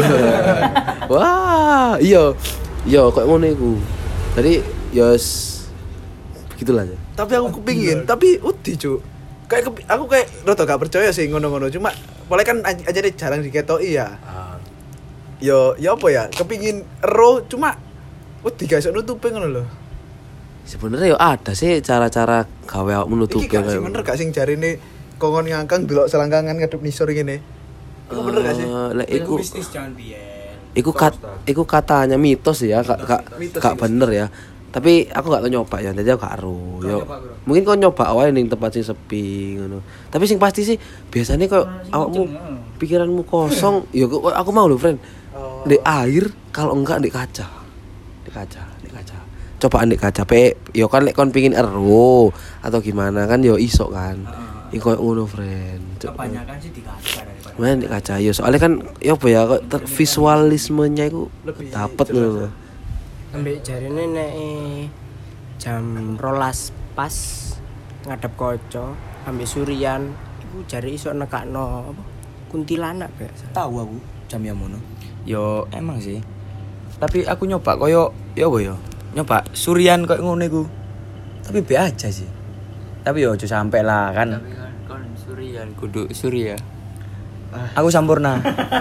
Wah, iya. Iya, kok ngono iku. Jadi ya begitulah ya. tapi aku kepingin, tapi uti Cuk. Aku kayak rada gak percaya sih ngono-ngono. Cuma boleh kan aja deh jarang diketoki ya. Yo apa ya? Kepingin ero cuma uti gak iso nutupi ngono lho. Sebenarnya yo ada sih cara-cara gawe awak menutupi Iki gak sih bener gak sing jarine kongon ngangkang delok selangkangan ngadep nisor ngene. Iku bener gak sih? Lek iku Bisnis jangan biyen. Iku katanya mitos ya, gak bener ya. Tapi aku gak tau nyoba ya, jadi aku gak ero. Yo, mungkin kau nyoba wae ning tempat sing sepi ngono. Tapi sing pasti sih biasanya kau awakmu pikiranmu kosong, yo aku mau lho, friend. Di air, kalau enggak di kaca. Di kaca. Cobaan di kaca pe, yo kan lek kon pengin ero atau gimana kan yo iso kan. Iku ngono, friend. Kebanyakan sih di kaca daripada. Main di kaca yo, soalnya kan yo apa ya kok visualismenya iku dapet ngono. Ambek jarine nek jam 12 pas ngadep kaca ambek surian iku jare iso nekakno apa kuntilanak biasa. Tahu aku jam yang mono. Yo emang sih. Tapi aku nyoba koyo yo apa yo? Nyoba surian koyo ngono iku. Tapi be aja sih. Tapi yo aja sampai lah kan. Tapi kan kon surian kudu surya. Aku sampurna.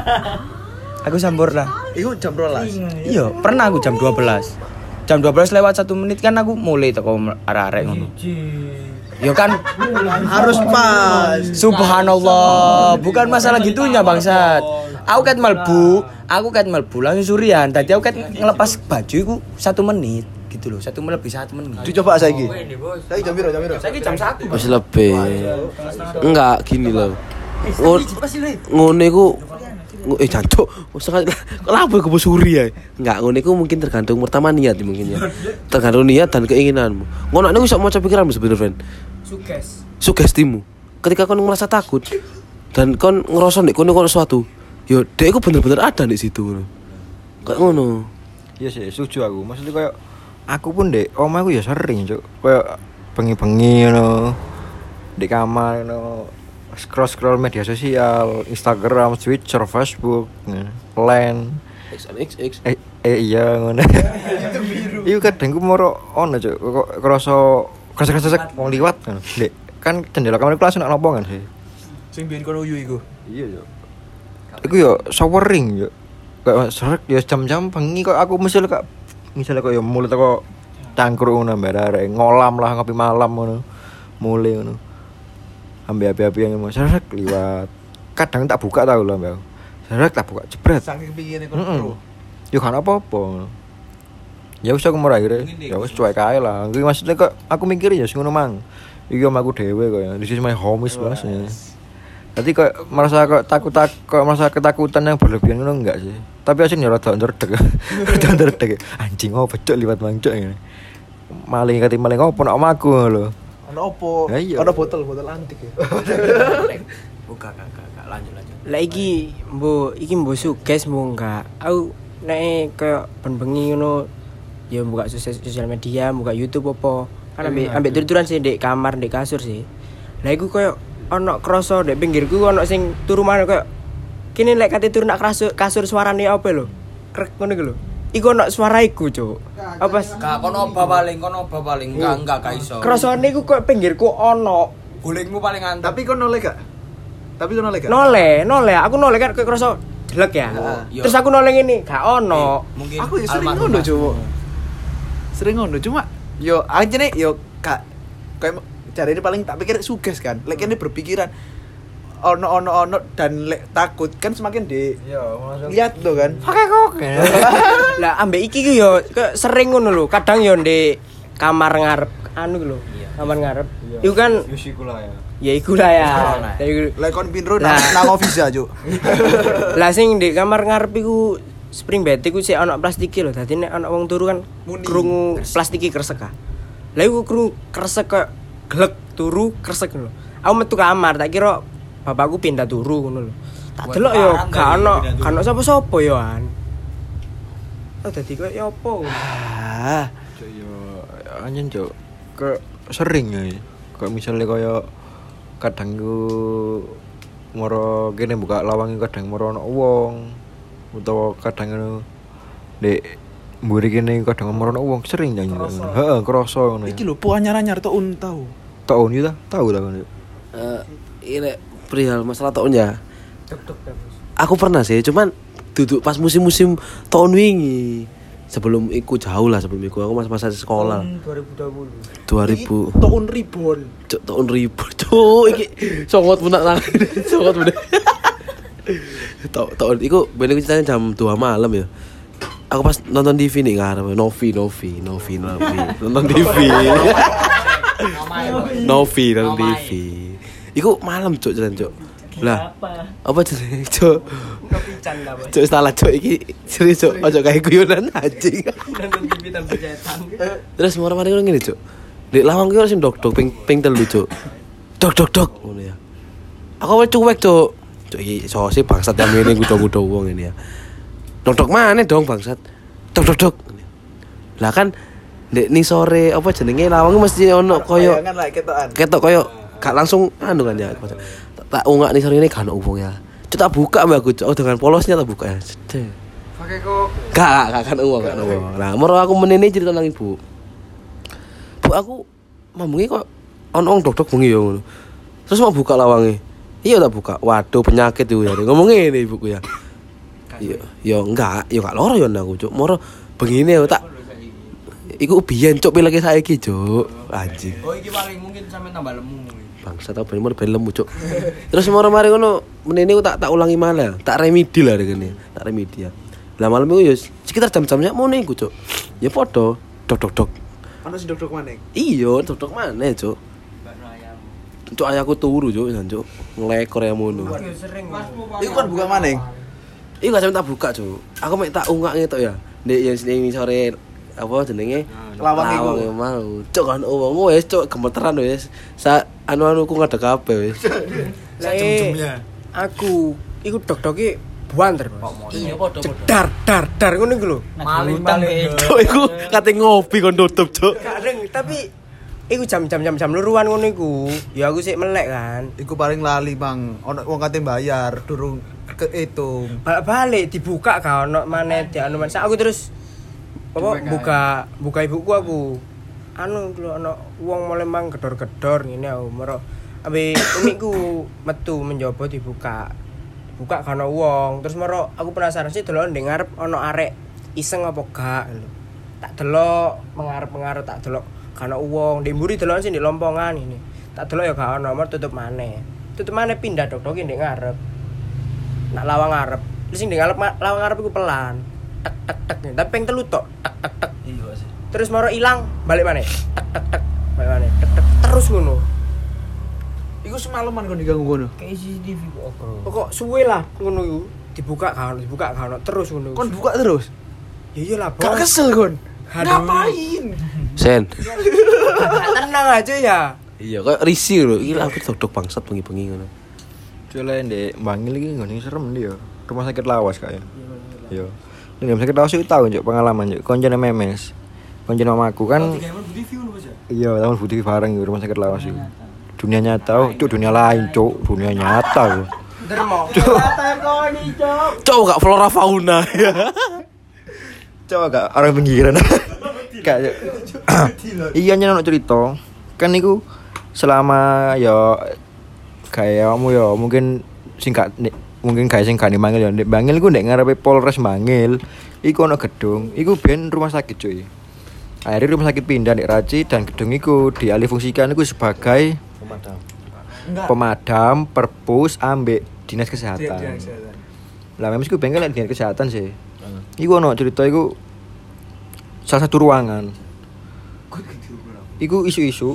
Iku jam 12. Iya, pernah aku jam 12. Jam 12 lewat 1 menit kan aku mulai teko arek-arek ngono. Ya kan Harus pas. subhanallah, bukan masalah gitunya bangsat. Aku ket melbu langsung surian. Tadi aku ket ngelepas baju iku 1 menit gitu loh. 1 menit lebih 1 menit. Dicoba saiki. Saiki jam piro? Saiki jam 1. Masih lebih. Enggak gini loh. Ngono iku jancuk. Kenapa kebo suri ya? Enggak, ngono iku mungkin tergantung pertama niat mungkin ya. Tergantung niat dan keinginanmu. Ngono nek iso maca pikiranmu sebenarnya, friend. Sugestimu. Ketika kon merasa takut dan kon ngerasa nek kono sesuatu, yo dek iku bener-bener ada di situ ngono. Kayak ngono. Iya sih, setuju aku. Maksudnya kayak aku pun dek omahku ya sering, Cuk. Kayak bengi-bengi ngono. Di kamar ngono. Scroll media sosial, Instagram, Twitter, Facebook, Line, XX. Iya ngono. Iya kadang ku moro ono Cuk, kok kerasa wong liwat kan. Dek, kan jendela kamar ku langsung nak lompong kan sih. Sing biyen kono uyu iku. Iya Cuk. Iku yo showering yo. Kayak srek yo jam-jam bengi kok aku misalnya kok yo mulai teko cangkruk ngono mbare ngolam lah ngopi malam ngono. Mulai ngono. Ambil api-api yang mau serak liwat. Kadang tak buka tau lah mbak. Serak tak buka jebret. Saking pingine kono. Yo kan apa-apa. Ya wis aku murah akhirnya. Ya wis cuek ae lah. Iki maksudnya kok aku mikir ya sing ngono mang. Iki omahku dhewe kok ya. This is my home is bahasanya. Tadi kok merasa merasa ketakutan yang berlebihan ngono enggak sih. Tapi asine rada ndredeg. Rada ndredeg. Anjing oh becok liwat mangcuk ngene. Maling opo nek omahku lho. Ono opo? Ono botol antik ya. Buka kakak lanjut. Lah iki mbok suges mbok enggak. Aku nek koyo ben bengi ngono ya buka sosial media, buka YouTube apa. Kan ambek tuturan sih ndek kamar, ndek kasur sih. Lah iku koyo ono kroso ndek pinggirku ono sing turu maneh koyo kene lek kate turu nak kasur suarane apa lho. Krek ngono iku lho. Iku ono suara iku, Cuk. Apa? Gak kono oba paling. Enggak iso. Krasane iku koyo pinggirku ono. Gulingmu paling antep. Tapi kono noleh gak? Noleh. Aku noleh kan koyo kroso jelek ya. Terus aku noleh ngene, gak ono. Mungkin Aku ya sering ngono, Cuk. Sering ngono cuma yo anjene yo gak kayak cari ini paling tak pikir suges kan. Lek ini berpikiran ono dan lek takut kan semakin di lihat tuh kan. Lah ambek iki ku yo sering ngono lho. Kadang yo ndek kamar ngarep anu lho. Kamar ngarep. Iku kan Yusiku lah ya. ya iku lah ya. Lek kon pinro nang office Cuk. Lah sing di kamar ngarep iku spring bed iku sik ana plastike lho. Dadi nek ana wong turu kan krungu plastike kresek ah. Lah iku krungu kresek kok glek turu kresek lho. Aku metu kamar tak kira bapakku pindah turu ngono lho. Tak delok yo gak ono sapa-sapa yo an. Oh dadi koyo ya apa? Cuk yo anjen cuk. Ke sering ya. Kayak misalnya kaya kadang ku moro kene buka lawang kadang moro ana wong utawa kadang ngono ndek mburi kene kadang moro ana wong sering nyanyi. Heeh, krasa ngono. Iki lho po anyar-anyar taun tau. Taun yo ta? Tahu ta ngono. Ini perihal masalah tahunnya. Aku pernah sih, cuman duduk pas musim-musim tahun wingi. Sebelum iku jauh lah, sebelum iku aku masa sekolah. 2020. 2000. Taun ribon. Cuk, tahun ribu. Cuk, iki songgot punak nang. Songgot bener. Tahun iku ben iku ceritanya jam 2 malam ya. Aku pas nonton TV nih ngarep Novi. Nonton TV. Novi nonton TV. Iku malam cuk jalan cuk. Lah, apa jenenge cuk? Kepican ta, Bos. Cuk salah cuk iki serius cuk, ojo kae guyonan anjing. Nonton TV tanpa cetan. Terus mari-mari ngono ngene cuk. Dek lawang ki ora sing dok ping telu cuk. Dok ngono ya. Aku awal cuek cuk. Cuk iki sose bangsat yang ngene kudo-kudo wong ini ya. Dok mana dong bangsat. Dok. Lah kan Dek ning sore apa jenenge lawang mesti ono koyo Bayangan lah ketokan. ketok koyo gak langsung anu kan ya. Tak ungak ning sore ini gak ono wong ya. Cuk tak buka mbak aku cuk dengan polosnya tak buka ya. Cedek. Pakai kok Gak kan uang. Nah, moro aku menene cerita nang ibu. Bu aku mamungi kok ono dok bengi yo ngono. Terus mau buka lawange. Iya tak buka. Waduh penyakit itu ya. Ngomong ngene ibuku ya. Iya, yo enggak, yo gak loro yo aku cuk. Moro begini yo tak iku biyen cuk pilih saiki cuk. Anjing. Oh iki paling mungkin sampe tambah lemu. Bangsa tau ben lemu cuk. Terus mari ngono menene ku tak ulangi malah, tak remedi lah ngene. Tak remedi ya. Lah malam iku yo sekitar jam-jamnya ngono iku cuk. Ya padha dok. Ono sing dok maneh. Iya, dok maneh cuk. Cuk ayahku turu cuk, cuk. Nglekor ya ngono. Sering. Iku kan buka maneh. Iku gak sampe tak buka cuk. Aku mek tak ungak ngetok ya. Ndek yang sini sore apa jenenge Lawang iku. Lawang mau. Cuk kan wong wis cuk gemeteran wis. Sa anu-anuku ngadeg kabeh wis. Lah aku iku dok-doke buanter. Iya padha. Dar ngono iku lho. Maling. Cuk iku kate ngopi kon tutup cuk. Kadang tapi iku jam luruan ngono iku. Ya aku sik melek kan. Iku paling lali, Bang. Ono wong kate bayar durung kehitung. Balik dibuka gak ono maneh dianu maneh. Aku terus apa buka ibuku aku. Anu lho ono wong mulai mang gedor-gedor ngene aku. Mero ambe umiku metu menjobo dibuka. Buka gak ono wong. Terus mero aku penasaran sih delok ndek ngarep ono arek iseng apa gak lho. Tak delok mengarep tak delok gak ono wong. Ndek mburi delok sing ndek lompongan ini. Tak delok ya gak ono, mero tutup maneh. Tutup maneh pindah dok-doke ndek ngarep. Nak lawang ngarep. Terus sing ndek lawang ngarep iku pelan. Tek. Tapi ping telu tok. Tek. Iya sih. Terus moro ilang, balik maneh. Tek. Balik maneh. Tek. Terus ngono. Iku semalaman kon diganggu ngono. Kayak CCTV kok. Kok suwe lah ngono iku. Dibuka gak ono terus ngono. Kon buka terus. Ya iyalah, Bos. Gak kesel kon. Aduh. Ngapain? Sen. Tenang aja ya. Iya kok risih lho. Iki aku dok bangsat bengi-bengi ngono. Jole ndek Bangil iki ngene serem dia. Rumah sakit lawas kak ya. Iya. Ning rumah sakit lawas itu tahu njuk pengalaman njuk koncone memes. Koncone mamaku kan. Iya, tahun Budi bareng rumah sakit lawas itu. Dunia nyata, cuk dunia lain, cuk. Dunia nyata. Dermo. Cok gak flora fauna ya. Coba gak orang pinggiran. Kayak iya nyono cerita. Kan niku selama ya kayakmu ya mungkin mungkin kayak sing gak mangil ya. Ndek Bangil iku ndek ngarepe Polres Bangil. Iku ana gedung, iku ben rumah sakit cuy. Akhirnya rumah sakit pindah ndek Raci dan gedung iku dialih fungsikan iku sebagai pemadam, perpus, ambek dinas kesehatan. Lah memang iku bengkel dinas kesehatan sih. Iku ana cerita iku salah satu ruangan. Iku isu-isu.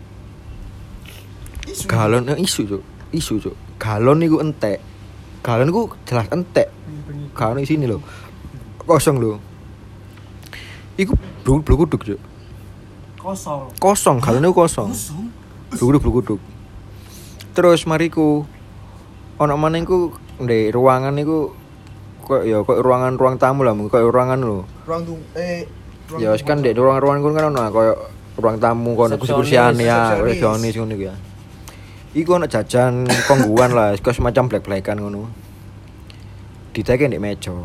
Galon isu, Cuk. Isu, Cuk. Galon iku entek. Galon iku jelas entek. Galon di sini lho. Kosong lho. Iku blukuduk, Cuk. Kosong, galon iku kosong. Blukuduk. Terus mariku ono maneh iku ndek ruangan iku kok ruang tamu lah, kok ruangan lho. Ya wis kan ndek ruangan kono kan ono koyo ruang tamu kono kursi-kursian ya, resepsionis ngono ya. Iku ono jajan kongguan lah, kok semacam black-blackan ngono. Diteke ndek meja.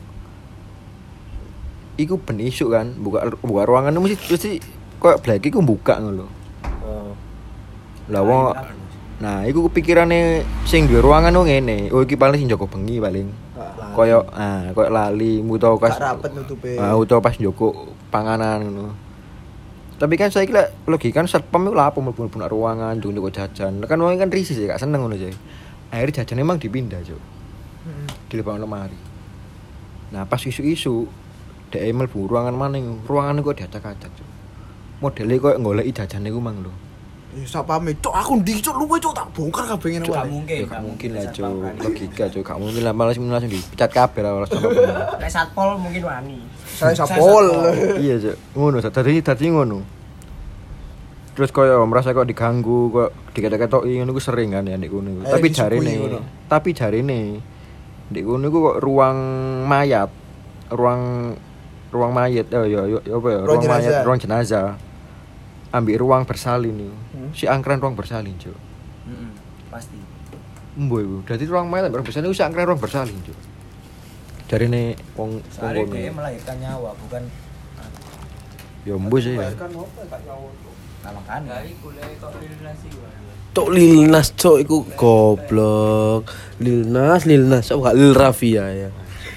Iku ben isuk kan, buka ruangan mesti koyo black iku buka ngono lho. Lah wong nah, iku kepikirane sing duwe ruangan ku ngene. Oh iki paling sing jaga bengi paling. Koyo lali utawa pas rapet nutupe. Utawa pas njogo panganan ngono. Tapi kan saiki lek logika kan satpam iku lha apa mlebu ruangan njogo jajan. Kan wong kan risih gak seneng ngono sih. Akhirnya jajan emang dipindah, Cuk. Dilepasno lemari. Nah, pas isu-isu dhek mlebu ruangan maning, ruangan kok diacak-acak, Cuk. Modele koyo goleki jajane ku mang lho. Sapame cok aku ndi cok luwe cok tak bongkar kabeh ngene wae. Gak mungkin lah cok, logika cok, gak mungkin lah malah langsung dipecat kabeh lah langsung. Nek satpol mungkin wani. Saya satpol. Iya cok, ngono tadi ngono. Terus koyo merasa kok diganggu, kok diketok-ketoki ngono ku sering kan ya ndek kono. Tapi jarine ndek kono ku kok ruang mayat. Ruang mayat ya apa ya? Ruang mayat, ruang jenazah. Ambil ruang bersalin nih. Si angkran ruang bersalin, Cuk. Pasti. Mboy iku. Dadi ruang mayat ruang bersalin iku si angkran ruang bersalin, Cuk. Jarine wong kono. Dia melahirkan nyawa, bukan ya mbo sih ya. Nah, makanya kok Lilnas iku. Tok Lilnas, Cuk, iku goblok. Lilnas, oh gak Lil Rafia ya.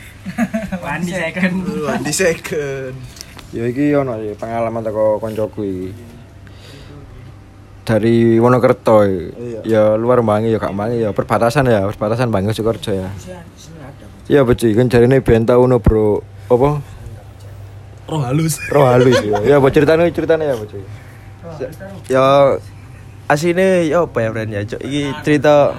Wandi second. Ya iki ono pengalaman teko koncoku iki. Dari Wonokerto ya luar Bangi ya gak Bangi ya perbatasan Bangi Sukoharjo ya. Iya betul kan jarine ben tau ono bro apa? Roh halus ya. Ya apa ceritanya ya apa cuy? Ya asine ya apa ya Bran ya, Cuk. Iki cerita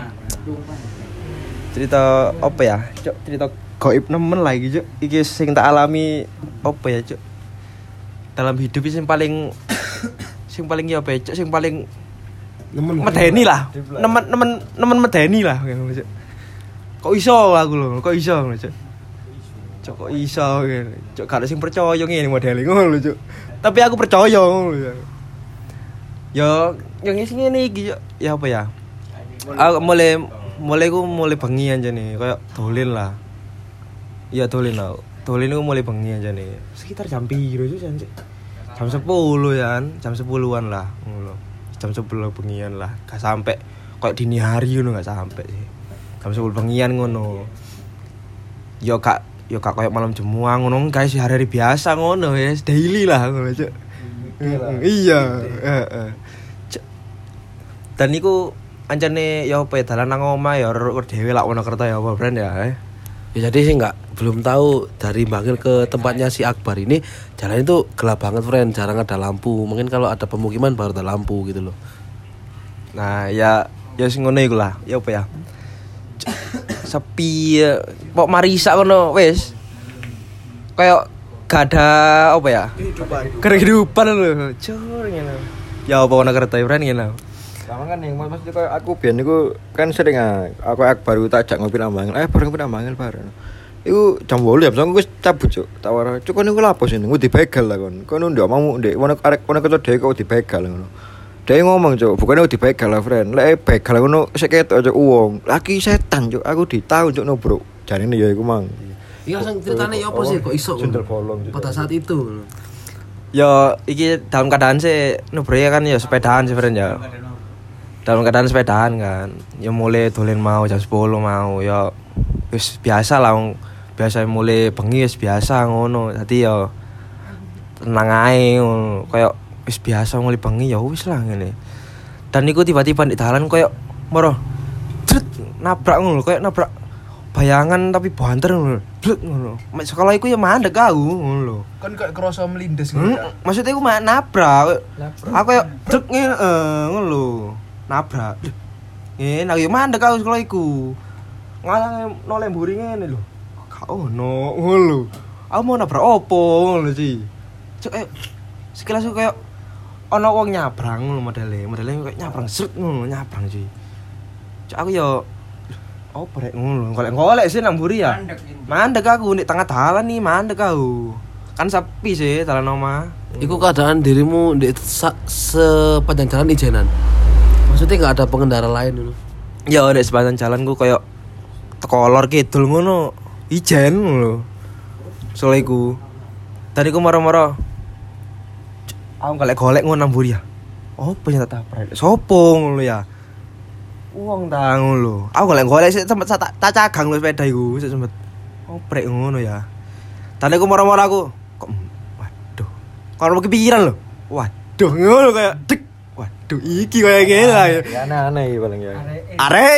apa ya? Cuk, cerita gaib nemen lah iki, Cuk. Iki sing tak alami apa ya, Cuk? Dalam hidup sing paling ya apa ya, Cuk, sing paling medeni lah. Nemen medeni lah. Kok iso aku lho, kok iso ngono, Cuk. Cuk kok iso ngene. Cuk gak ada sing percaya ngene modele ngono lho, Cuk. Tapi aku percaya ngono lho. Ya yang ngene iki, Cuk. Ya apa ya? Aku mulai bengi anjene, koyo dolen lah. Iya dolen lah. Dolen iku mulai bengi anjene. Sekitar jam piro, Cuk, jam 10 ya, jam 10-an lah ngono. Jam 10 bengian lah, gak sampai kayak dini hari ngono, gak sampai sih. Jam 10 bengian ngono. Yo kak kayak malam jemuang ngono, guys, hari-hari biasa ngono ya, daily lah ngono, Cuk. Iya, heeh. Dan niku ancane ya apa ya dalan nang omah ya dhewe lak Wonokerto ya apa brand ya. Ya jadi sih belum tahu dari Bangil ke tempatnya si Akbar ini jalan itu gelap banget friend, jarang ada lampu. Mungkin kalau ada pemukiman baru ada lampu gitu loh. Nah ya sing ngono iku lah. Ya apa ya? Sepi ya. Pok marisa ngono wis. Kayak gak ada apa ya? Kehidupan lho. Cur ngene. Ya apa Wonokerto friend ngene. Sama kan yang maksudnya kayak aku biyen niku kan sering aku baru tak ajak ngopi nang Bangil. Bareng nang Bangil bareng. Iku jam 8 ya, aku wis cabut, Cuk. Tak wara, Cuk kon niku lha apa sini? Ngu dibegal lah kon. Kon ndak mau ndek Wonokerto dhewe kok dibegal ngono. Dia ngomong, Cuk, bukannya dibegal lah, friend. Lek begal ngono sik ketok Cuk wong. Laki setan, Cuk. Aku ditau Cuk no, Bro. Jarine ya iku mang. Iya sing ceritane ya apa sih kok iso? Pada saat itu. Ya iki dalam keadaan sih Nubro ya kan ya sepedaan sih friend ya. Dalam keadaan sepedaan kan. Ya mulai dolen mau jam 10 mau ya wis biasa lah biasa mulai bengi wis biasa ngono. Dadi ya tenang ae ngono. Kayak wis biasa mulai bengi ya wis lah ngene. Dan niku tiba-tiba di dalan kayak moro nabrak ngono kayak nabrak bayangan tapi banter ngono. blek ngono. Mek sekolah iku ya mandek aku ngono lho. Kan kayak kerasa melindes ngono. Maksudnya aku nabrak. Aku ya dek ngono lho. Nabrak. Ngene aku ya mandek aku sekolah iku. Ngalang noleh mburi ngene lho. Gak ono ngono lho. Aku mau nabrak opo ngono sih. Cuk sekilas aku kayak ono wong nyabrang ngono modele kayak nyabrang sret ngono nyabrang sih. Cuk aku ya opo rek ngono. Golek sih nang mburi ya. Mandek aku di tengah dalan nih mandek aku. Kan sepi sih dalan omah. Iku keadaan dirimu di sepanjang jalan ijenan. Maksudnya nggak ada pengendara lain dulu. Ya di sepanjang jalan ku kayak tekolor kidul ngono. Ijen ngono. Soale iku. Tadi ku moro-moro. Aku golek ngono nang mburi ya. Opo yang tak tabrak? Sopo ngono ya? Wong ta ngono lho. Aku golek sik sempet tak cagang lho sepeda iku, sik sempet. Oprek ngono ya. Tadi aku moro-moro aku kok waduh. Kalau kepikiran lho. Waduh ngono kayak dek. Waduh iki kayak ngene lah. Ya aneh-aneh iki paling ya. Arek.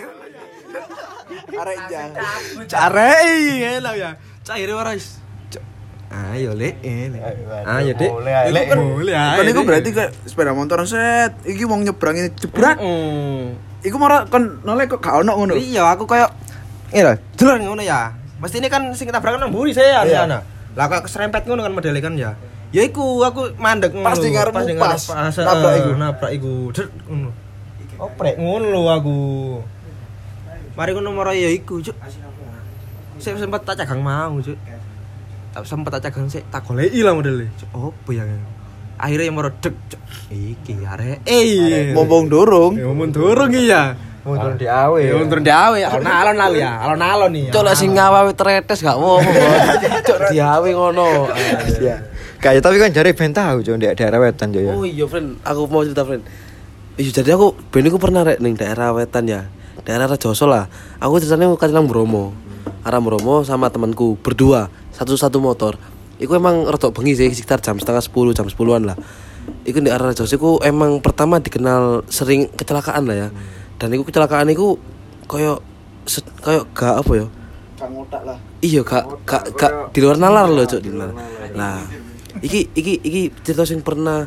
Arek jang. Arek ngene lah ya. Caire ora wis. Ayo lek ngene. Ayo Dik. Boleh. Kan iku berarti kayak sepeda motor set. Iki wong nyebrang ini jebrak. Iku marah kan noleh kok gak ono ngono. Iya, aku kayak ngene lho, jelar ngono ya. Mesti ini kan sing tabrakan nang mburi saya ya. Lah kok keserempet ngono kan modele kan ya. Ya iku aku mandek ngono. Pas di ngarepmu pas. Nabrak iku. Dek ngono. Oprek ngono lho aku. Mari ngono moro ya iku, Cuk. Saya sempat tak cagang mau, Cuk. Tak sempat tak cagang sik tak goleki lah modele. Cuk, opo ya. Akhirnya yang moro dek. Cuk. Iki arek. Ngomong dorong. Ya ngomong dorong iki ya. Mundur di awe. Ya mundur di awe. Alon-alon lali ya. Alon-alon nih. Cok lek sing ngawawi tretes gak ngomong. Cok diawe ngono. Iya. Kayak tapi kan jare ben tahu Cuk di daerah wetan Cuk ya. Oh iya, friend. Aku mau cerita, friend. Iya, jadi aku ben iku pernah rek ning daerah wetan ya. Daerah Rejoso lah. Aku ceritanya kecilang Bromo. Arah Bromo sama temanku berdua, satu motor. Iku emang rodok bengi sih sekitar jam 9:30, jam 10-an lah. Iku di arah Rejoso iku emang pertama dikenal sering kecelakaan lah ya. Dan iku kecelakaan iku koyo gak apa ya? Gak ngotak lah. Iya, gak di luar nalar loh, Cuk, di luar. Nah, iki cerita sing pernah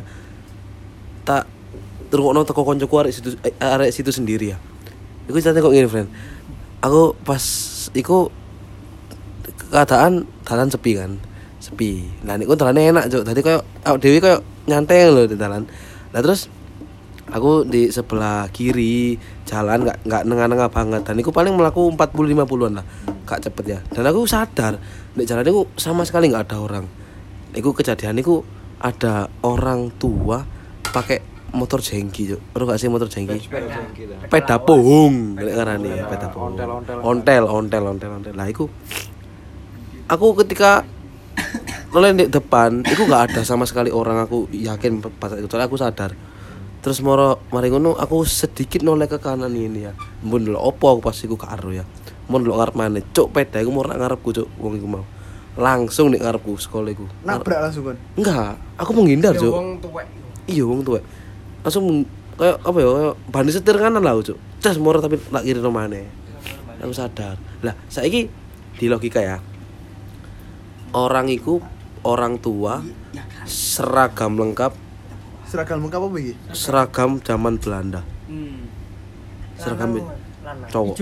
tak rungokno teko koncoku arek situ sendiri ya. Iku ceritanya kok ngene, friend. Aku pas iku keadaan dalan sepi kan. Sepi. Lah niku dalane enak, Cuk. Dadi koyo awake dhewe koyo nyantai lho di dalan. Lah terus aku di sebelah kiri jalan enggak nengah-nengah banget dan iku paling melaku 40-50-an lah. Gak cepet ya. Dan aku sadar nek jalan iku sama sekali enggak ada orang. Iku kejadian iku ada orang tua pakai motor jengki, Cuk. Ora gak sih motor jengki? Sepeda pohong, nek ngarani sepeda pohong. Ontel. Lah iku aku ketika noleh di depan, iku gak ada sama sekali orang, aku yakin pas itu soalnya aku sadar. Terus mari ngono aku sedikit noleh ke kanan ini ya. Mun lho opo aku pas iku karo ya. Mun lho ngarep maneh, Cuk, peda iku murah ngarepku, Cuk. Wong iku mau. Langsung nek ngarepku sekolah iku. Nabrak langsung kan. Enggak, aku menghindar, Cuk. Wong tuwek. Iya, wong tuwek. Langsung kayak apa ya? Kayak bani setir kanan lah, Cuk. Cas murah tapi lak kiri maneh. Aku sadar. Lah, saiki di logika ya. Orang iku orang tua seragam lengkap. Seragam lengkap apa iki? Seragam zaman Belanda. Seragam cowok.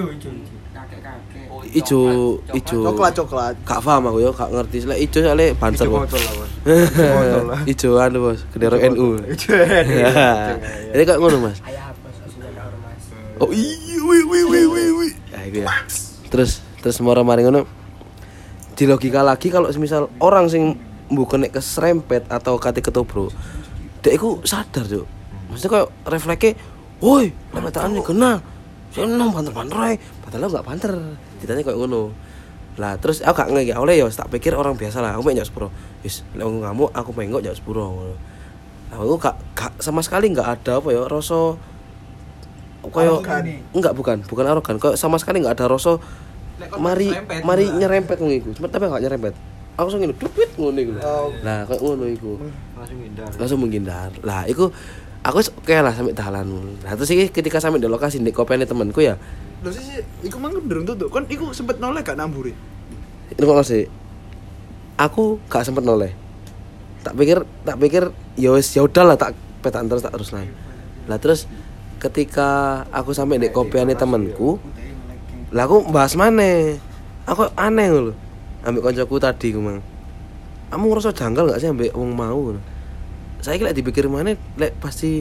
Ijo. Coklat. Gak paham aku ya, gak ngerti. Lek ijo soalnya banser. Ijo anu, Bos, bendera NU. Jadi kayak ngono, Mas. Oh iya, wi. Ya iku ya. Terus mari ngono. Di logika lagi kalau semisal orang sing bukan nek keserempet atau kate ketobro, dek iku sadar, Cuk. Maksudnya kayak refleksnya, "Woi, lepetane kena." Seneng banter-banter ae, padahal enggak banter. Ditanya kayak ngono. Lah terus aku gak ngeki, oleh ya tak pikir orang biasa lah. Aku mek njak sepuro. Wis, lek ngamuk aku pengen njak sepuro ngono. Nah, aku gak sama sekali enggak ada apa ya rasa koyo bukan arogan. Kok sama sekali enggak ada rasa mari nyerempet ngono iku. Tapi enggak nyerempet. Aku langsung ngene, dupit ngono iku. Lah kayak ngono iku. Langsung menghindar. Lah iku aku oke lah sampai dalan. Nah terus iki ketika sampai di lokasi ndek kopene temanku ya. Lho sih iku mang durung tutuk. Kon iku sempet noleh gak namburi? ngono sih. Aku gak sempet noleh. Tak pikir ya wis ya udahlah tak petak terus lah. Lah terus ketika aku sampai di kopiane temanku, lah aku bahas maneh. Aku aneh lho. Ambek koncoku tadi ku mang. Kamu ngerasa janggal gak sih ambek wong mau? Saiki lek dipikir maneh lek pasti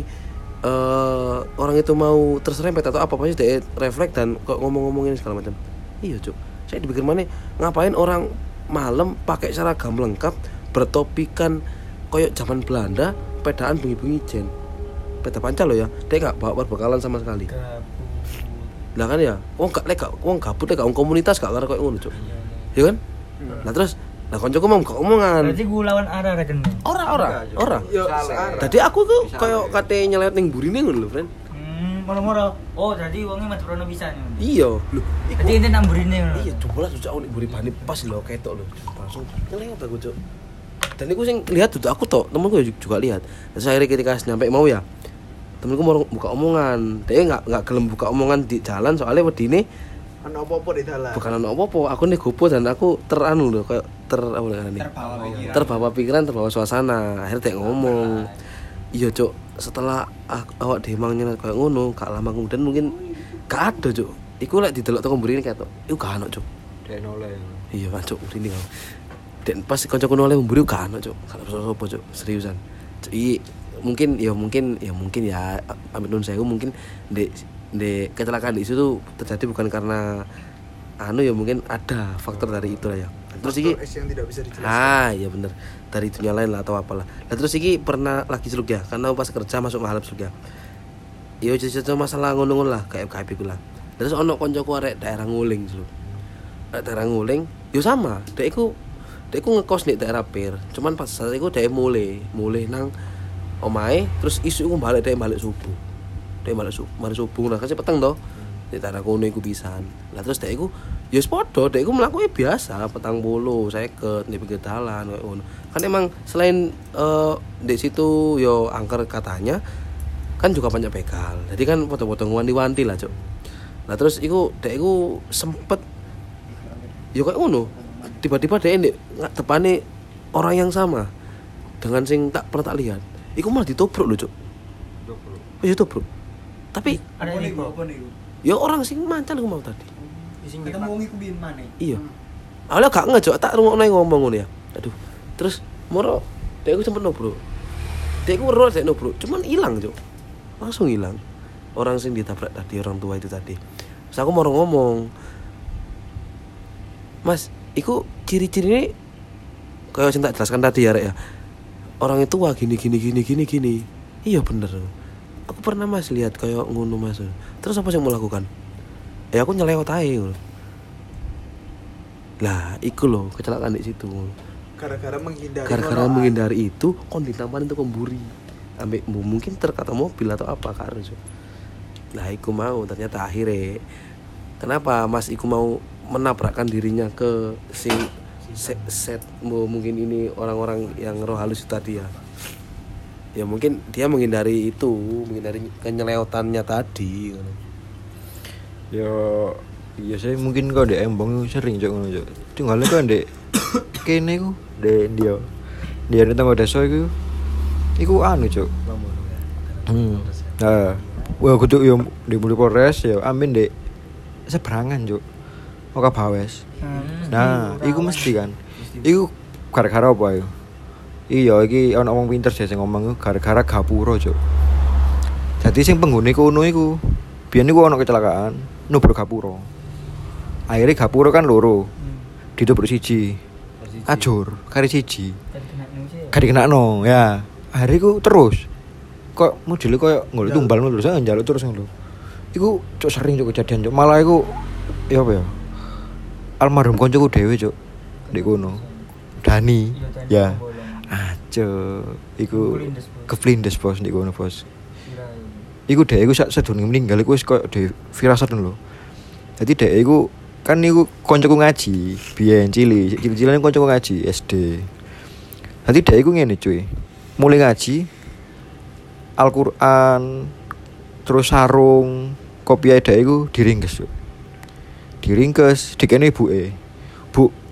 orang itu mau terserempet atau apa pasti dia refleks dan kok ngomong-ngomongin segala macam. Iya, Cuk. Saya dipikir maneh ngapain orang malam pakai seragam lengkap bertopikan koyok zaman Belanda, pedaan bengi-bengi jen. Peda pancal loh ya. Dia enggak bawa perbekalan sama sekali. Lah kan ya, wong gabut lek komunitas gak karo koyo ngono, Cuk. Ya kan? Lah terus nah koncoku mau gak omongan. Berarti gue lawan arah kan. Ora. Tadi aku tuh koyo kate nyelet ning burine ngono lho, friend. Moro-moro. Oh, jadi wongnya mati prono bisa. Iya, lho. Jadi ente nang burine. Iya, coba lah sujak unik buri bani pas lho ketok lho. Langsung ngelewat aku, Cuk. Dan iku sing lihat tuh aku tok, temenku juga lihat. Terus akhirnya ketika nyampe mau ya, temenku mau buka omongan. Dia enggak gelem buka omongan di jalan soalnya wedine Ana apa-apa di dalam. bukan ana apa-apa, aku nih gopo dan aku teranu lho kayak terbawa pikiran, terbawa suasana. Akhirnya dia ngomong. Iya, Cuk, setelah awak demangnya kayak ngono, gak lama kemudian mungkin gak ada, Cuk. Iku lek didelok teko mrene ketok. Iku gak ono, Cuk. Dek noleh. Iya, kan, Cuk, mrene kan. Dan pas kancaku noleh mburi gak ono, Cuk. Gak ono apa, Cuk. Seriusan. Cuk, mungkin ya amit nun sewu mungkin di kecelakaan di situ terjadi bukan karena ya mungkin ada faktor dari itu lah ya. Terus iki yang tidak bisa dijelaskan. iya bener. Dari dunia lain lah atau apalah. Nah terus iki pernah lagi seluk ya, karena pas kerja masuk mahalap seluk ya. Yo cerita masalah ngono-ngono lah, kayak iku lah. Terus ono koncoku arek daerah Nguling seluk. Daerah Nguling, yo sama. Dek iku ngekos di daerah Pir. Cuman pas saat iku dek mulai nang omahe, terus isu iku balik subuh. Mari subuh nah kasih peteng toh. Di daerah kono iku pisan. Lah terus dek iku ya padha dek iku mlakuke biasa, petang bolo, seket di pinggir dalan kayak ngono. Kan emang selain di situ yo angker katanya kan juga banyak begal. Jadi kan foto-foto wanti-wanti lah, Cuk. Lah terus iku dek iku sempet yo kayak ngono. Tiba-tiba dek ndek depane orang yang sama dengan sing tak pernah tak lihat. Iku malah ditobrok lho, Cuk. Oh, ditobrok. Tapi Ada ini kok. ya orang sing mancal aku mau tadi. Ketemu wong iku biyen maneh. Iya. Awalnya gak ngejok tak rungokno ngomong ngono ya. Aduh. Terus moro dek aku sempet nobro. Dek aku ro dek nobro, cuman hilang, Cuk. Langsung hilang. Orang sing ditabrak tadi orang tua itu tadi. Terus aku mau ngomong. Mas, iku ciri-cirine kayak sing tak jelaskan tadi ya, Rek ya. Orang itu wah gini. Iya bener. Aku pernah Mas lihat kayak ngono Mas. Terus apa yang mau lakukan? Ya aku nyelewat ae. Lah, iku loh kecelakaan di situ. Gara-gara menghindari itu kon ditampanin itu kemburi. Ambek mungkin terkata mobil atau apa karo. Lah iku mau ternyata akhirnya. Kenapa Mas iku mau menabrakkan dirinya ke si set mungkin ini orang-orang yang roh halus tadi ya. Ya mungkin dia menghindari kenyeleotannya tadi. Yo iya saya mungkin kok dek embong sering Cuk ngono, Cuk. Tinggalnya kok ndek kene ku ndek dia tenggo desa iku anu, Cuk. Nah, wah kudu yo di Polres ya amin ndek seberangan, Cuk. Oka Bawes. Nah, iku mesti kan. Iku gara-gara apa ya? Iya, iki ana wong pinter sing ngomong gara-gara gapura, Cuk. Dadi sing penghuni kono iku biyen iku ana kecelakaan, nobro gapura. Akhirnya gapura kan loro. Ditobrok siji. Ajur, kari siji. Kari kenakno, ya. Akhirnya iku terus. Kok modele koyo nggolek tumbal ngono terus njaluk terus ngono. Iku Cuk sering Cuk kejadian, Cuk. Malah iku ya apa ya? Almarhum koncoku dhewe, Cuk. Ndek kono. Dani. Ya. Aja iku keflindes bos ndek kono bos. Iku dhek iku sadurunge meninggal iku wis koyo de firasat lho. Dadi dhek iku kan niku kancaku ngaji, biyen cilik-cilik kancaku ngaji SD. Dadi dhek iku ngene cuy. Mulai ngaji Al-Qur'an terus sarung kopiah dhek iku diringkes, Cuk. Diringkes dikene ibuke. Bu,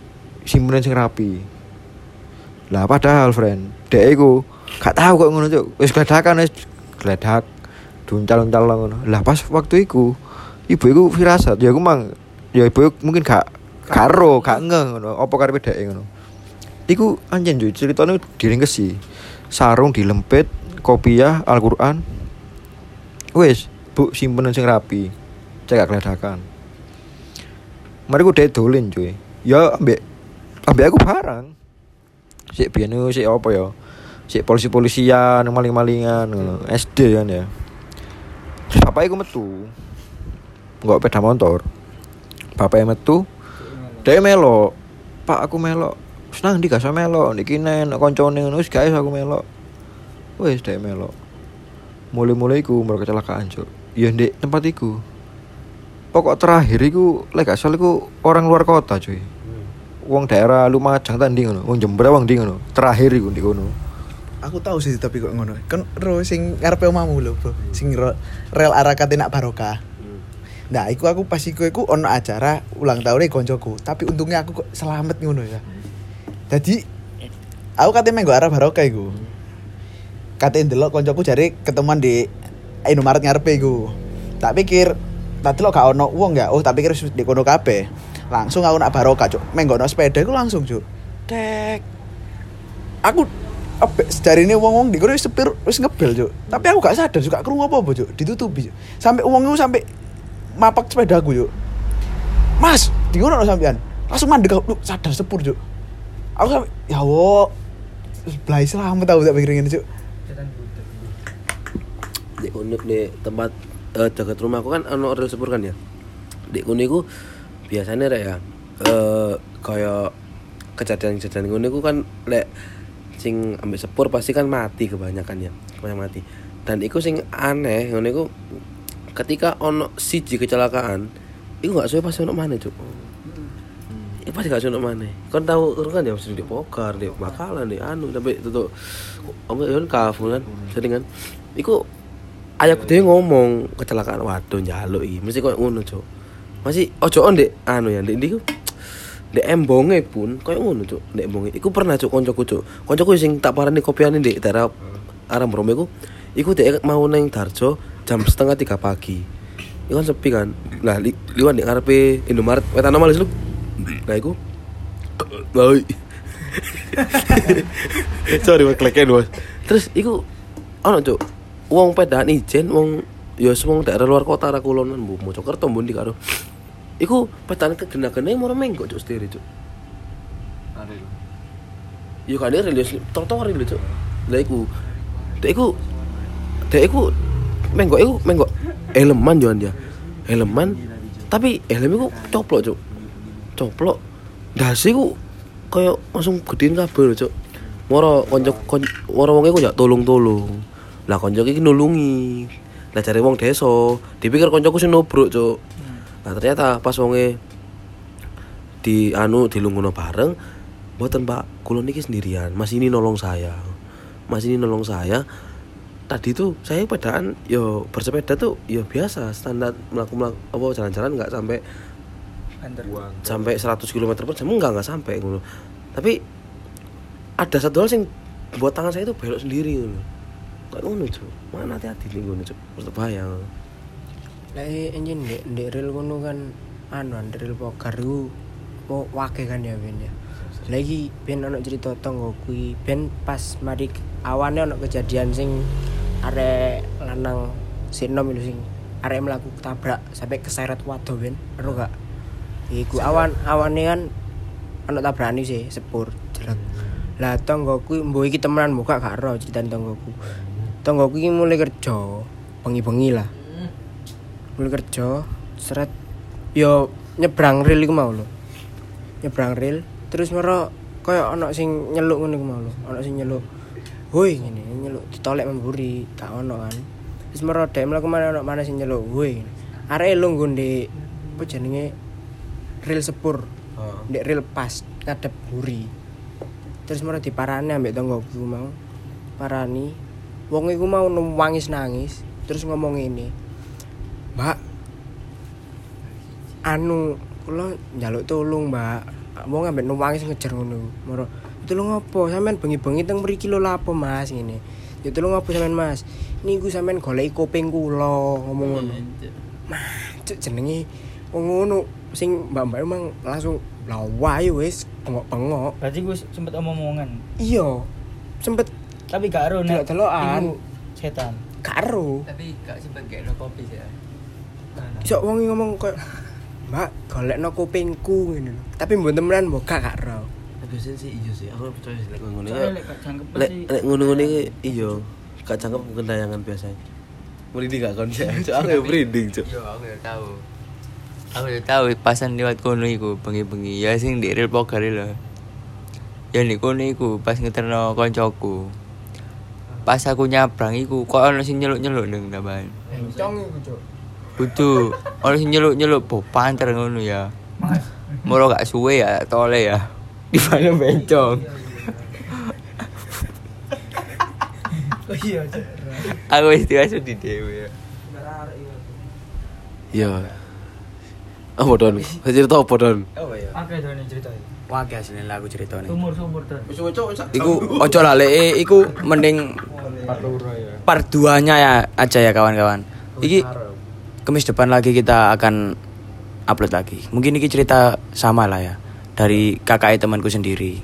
simpenan sing rapi. Lah padahal friend, dhek iku gak tahu kok ngono cuk. Wis gledakan wis gledak duncal-uncal ngono. Lah pas waktu iku ibu iku firasat ya aku mang ya ibu mungkin gak karo gak ngeh ngono apa karepe dhek ngono. Iku anjen cuk ceritane diringkesi. Sarung dilempit, kopiah, Al-Qur'an. Wis, Bu simpenan sing rapi. Cek gak gledakan. Mari ku dhek dolen cuy. Ya ambek aku barang. Sik biyen sik apa ya? Sik polisi-polisian, maling-malingan ngono. SD kan ya. Terus bapak iku metu. Enggak sepeda motor. Bapaknya metu. Dia melok. Pak aku melok. Senang ndi gak melok. Niki nek koncone ngono wis gak aku melok. Wis dia melok. Mulai-mulai iku mergo kecelakaan, Cuk. Ya ndek tempat iku. Pokok terakhir iku lek gak salah iku orang luar kota, cuy. Wong daerah Lumajang ta ndi ngono. Wong Jember wong ndi ngono. Terakhir iku ndi ngono. Aku tahu sih tapi kok ngono. Kan ro sing ngarepe omahmu lho, Bro. Sing rel Arakate nak Barokah. Nah, aku pas iku ono acara ulang tahun koncoku, tapi untungnya aku kok selamat ngono ya. Jadi aku kate menggo arah Barokah iku. Kate ndelok koncoku jare ketemuan di Indomaret ngarepe iku. Tak pikir tak delok gak ono wong ya. Oh, tak pikir di kono kabeh. Langsung aku nak Barokah, Cuk. Menggo ono sepeda iku langsung, Cuk. Tek. Aku sejarine wong-wong di kono wis sepir wis ngebel, Cuk. Tapi aku gak sadar juga krungu apa, Cuk. Ditutupi, Cuk. Sampai wong iku sampai mapak sepedaku, Cuk. Mas, di ngono sampean. Langsung mandek aku sadar sepur, Cuk. Aku sampai ya wo. Blai selamat tahu tak pikirin Cuk. Di unik di tempat dekat rumahku kan ono rel sepur kan ya. Di uniku biasanya rek ya kayak kejadian-kejadian uniku kan lek sing ambek sepur pasti kan mati kebanyakan ya. Kebanyakan mati. Dan iku sing aneh ngene iku ketika ono siji kecelakaan, iku gak suwe pasti ono maneh, Cuk. Iku pasti gak suwe ono maneh. Kon tahu kan ya mesti di Pokar, di Bakalan, di anu sampai tutuk apa yon kafu kan. Sering kan. Iku ayahku dhewe ngomong kecelakaan waduh njaluk iki. Mesti koyo ngono, Cuk. Masih ojoon ndek anu ya, ndek ndi ku. Ndek embonge pun koyo ngono, Cuk. Ndek embonge. Iku pernah, Cuk, koncoku, Cuk. Koncoku sing tak parani kopiane ndek daerah arah Bromo iku dhek mau nang Darjo jam 2:30 pagi. Iku kan sepi kan. Nah, liwat nek ngarepe Indomaret wetan malis lu. Nah, iku. Woi. Sorry, wong kleken, Bos. Terus iku ono, Cuk. Wong pedaan ijen, wong ya wong daerah luar kota ra kulonan, Bu. Mojokerto mbundi karo. Iku pedaan kegena-gene moro mengko, Cuk, setir, Cuk. Are. Yo kan ada religius trotoar lho, Cuk. Lah iku. Dek iku menggo eleman joan dia. Eleman tapi helm iku coplok, Cuk. Coplok. Dasi iku koyo langsung gedein kabeh lho, Cuk. Moro wong iku jak tolong-tolong. Lah konco iki nulungi. Lah jare wong desa, dipikir koncoku sing nobrok, Cuk. Nah ternyata pas wonge dilungguno bareng, mboten Pak, kula niki sendirian. Mas ini nolong saya. Tadi tuh saya pedaan yo bersepeda tuh yo biasa standar melakukan apa jalan-jalan nggak sampai 100 km/jam nggak sampai ngono. Tapi ada satu hal yang buat tangan saya itu belok sendiri ngono. Kayak ngono, Cuk. Mana hati-hati nih ngono, Cuk. Mesti bahaya. Lah enjin ndek rel ngono kan rel Pokar ku wake kan ya ben ya. Lagi ben ono cerita tonggo kuwi ben pas mari awane ono kejadian sing arek lanang sinom itu sing arek mlaku tabrak sampai keseret wado ben ero gak iku awane kan ono tabrani sih sepur jelek. Lah tonggoku mbok iki temenan muka gak ero critane tonggoku iki mulai kerja bengi-bengi lah mulai kerja seret yo nyebrang rel iku mau lho nyebrang rel terus mero koyo ono sing nyeluk ngene iku mau lho ono sing nyeluk woi ngene nyeluk ditolek memburi gak ono kan wis mero dhek mlaku mana sing nyeluk woi arek lungguh ndek apa jenenge rel sepur ndek rel pas ngadep buri terus mero diparani ambek tanggoku mau parani wong iku mau nangis terus ngomong ini Mbak kula njaluk tolong Mbak mau ngambil numpange sing ngejar ngono. Moro, "Itu lho ngopo? Sampean bengi-bengi teng mriki lho lapo, Mas?" ngene. "Ya itu lho ngopo sampean, Mas? Niku sampean goleki kuping kula," ngomong ngono. Cuk jenenge wong ngono sing mbak-mbak emang langsung lawa ya wis bengok-bengok. Berarti gue sempet omong-omongan. Iya. Sempet Tapi gak ero nek delok-delokan. iku setan. Gak ero. Tapi gak sempet gekno kopi sih. Iso wong ngomong koyo Mbak, golekno kupingku ngene lho. Tapi mbok temenan mbok gak ero. Biasanya sih iya sih, aku percaya sih lek ngono. Soalnya lek gak jangkep Lek pasti lek ngono-ngono iki iya, gak jangkep gentayangan biasanya. Merinding gak kon sih? Cuk, aku ya merinding, Cuk. Yo aku ya tahu. Aku ya tahu pasan lewat kono iku bengi-bengi ya sing di real poker lho. Ya nek kono iku pas ngeterno koncoku. Pas aku nyabrang iku kok ono sing nyeluk-nyeluk ning tambahan. Encong iku, Cuk. Kudu ono sing nyeluk-nyeluk bopanter ngono ya. Moro gak suwe ya tole ya. Di mana bencong. Oh iya, Cuk. Aku wis diwasu di dhewe ya. Iya. Apa Don? Cerita apa Don? Akeh dene ceritane. Wage asline lah aku ceritane. Sumur-sumur Don. Iku ojo laleke iku mending part 2-nya ya aja ya kawan-kawan. Iki Kamis depan lagi kita akan upload lagi. Mungkin ini cerita sama lah ya dari kakak temanku sendiri.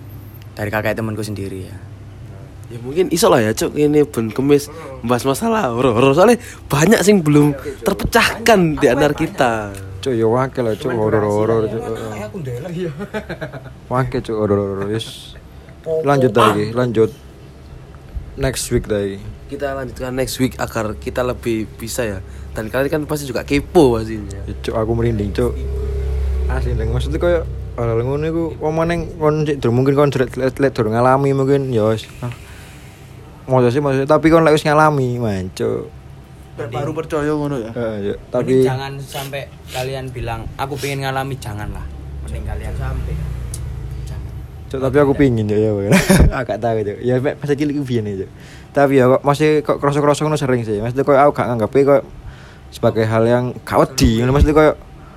Ya. Ya mungkin iso lah ya Cuk, ini ben Kemis membahas masalah horor. Soalnya banyak sing belum terpecahkan di antara kita. Cuk yo wakil lah cuk horor-horor cuk. Aku ndelok ya. Wakil cuk horor-horor wis. Lanjut lagi, lanjut. Next week lagi. Kita lanjutkan next week agar kita lebih bisa ya. Dan kalian kan pasti juga kepo pastinya. Ya, cuk aku merinding cuk. Asli ndeng maksudnya koyo hal ngono iku omoneng kon sik mungkin kon lek durung ngalami mungkin ya wis. Maksudnya tapi kon lek wis ngalami, man cuk. Baru percaya ngono ya. Ya, Tapi tapi jangan sampai kalian bilang aku pengen ngalami, janganlah. Mending kalian sampai. Cuk, tapi aku pingin ya. Agak tahu cuk. Ya pas cilik piye nih cuk. Tapi ya kok masih kok kroso-kroso ngono sering sih. Maksudnya kok aku gak nganggep kok sebagai hal yang gak wedi. Maksudnya kok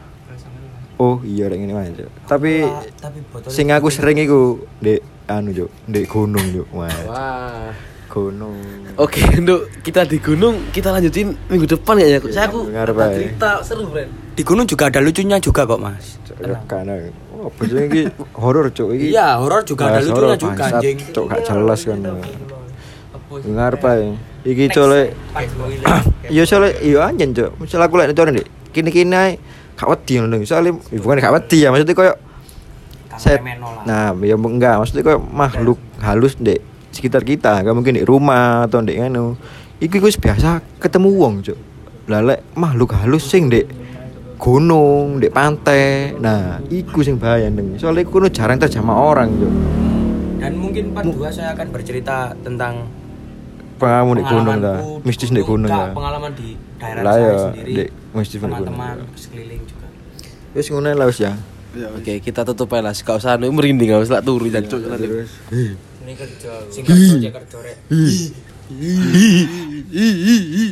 oh iya rek ngene wae cuk. Tapi sing aku sering iku ndek anu cuk, ndek gunung cuk. Wah. Gunung. Oke, Nduk, kita di gunung, kita lanjutin minggu depan ya. Saya aku Ngarep ada ae. cerita seru, Bren. Di gunung juga ada lucunya juga kok, Mas. Ya kan. Oh, bojone iki horor cuk iki. Iya, horor juga ada Bahas lucunya horor, juga bangsat, anjing. Cuk gak jelas kan. Ngarep ae. Iki cole iya soalnya iya anjen cuk. Misal aku lek nonton Dik. Kini-kini ae gak wedi ngono. Soale bukan gak wedi ya, maksudnya koyo set. Nah, ya enggak, maksudnya koyo makhluk halus Dek sekitar kita, gak mungkin di rumah atau di anu. Iku biasa ketemu wong, Cuk. Lah lek makhluk halus sing di gunung, di pantai. Nah, iku sing bahaya ndeng. Soalnya iku jarang terjamah orang, Cuk. Dan mungkin part 2 saya akan bercerita tentang Pengalaman di gunung dah. pengalamanku Mistis di gunung Enggak, ya. pengalaman di daerah Lah saya ya, sendiri. di mistis di gunung. Teman-teman sekeliling juga. Wis ngono lah wis ya. Oke, kita tutup aja lah. Gak usah anu merinding, gak usah turu dan Cuk. Terus. Ini kerja, sing kerja rek.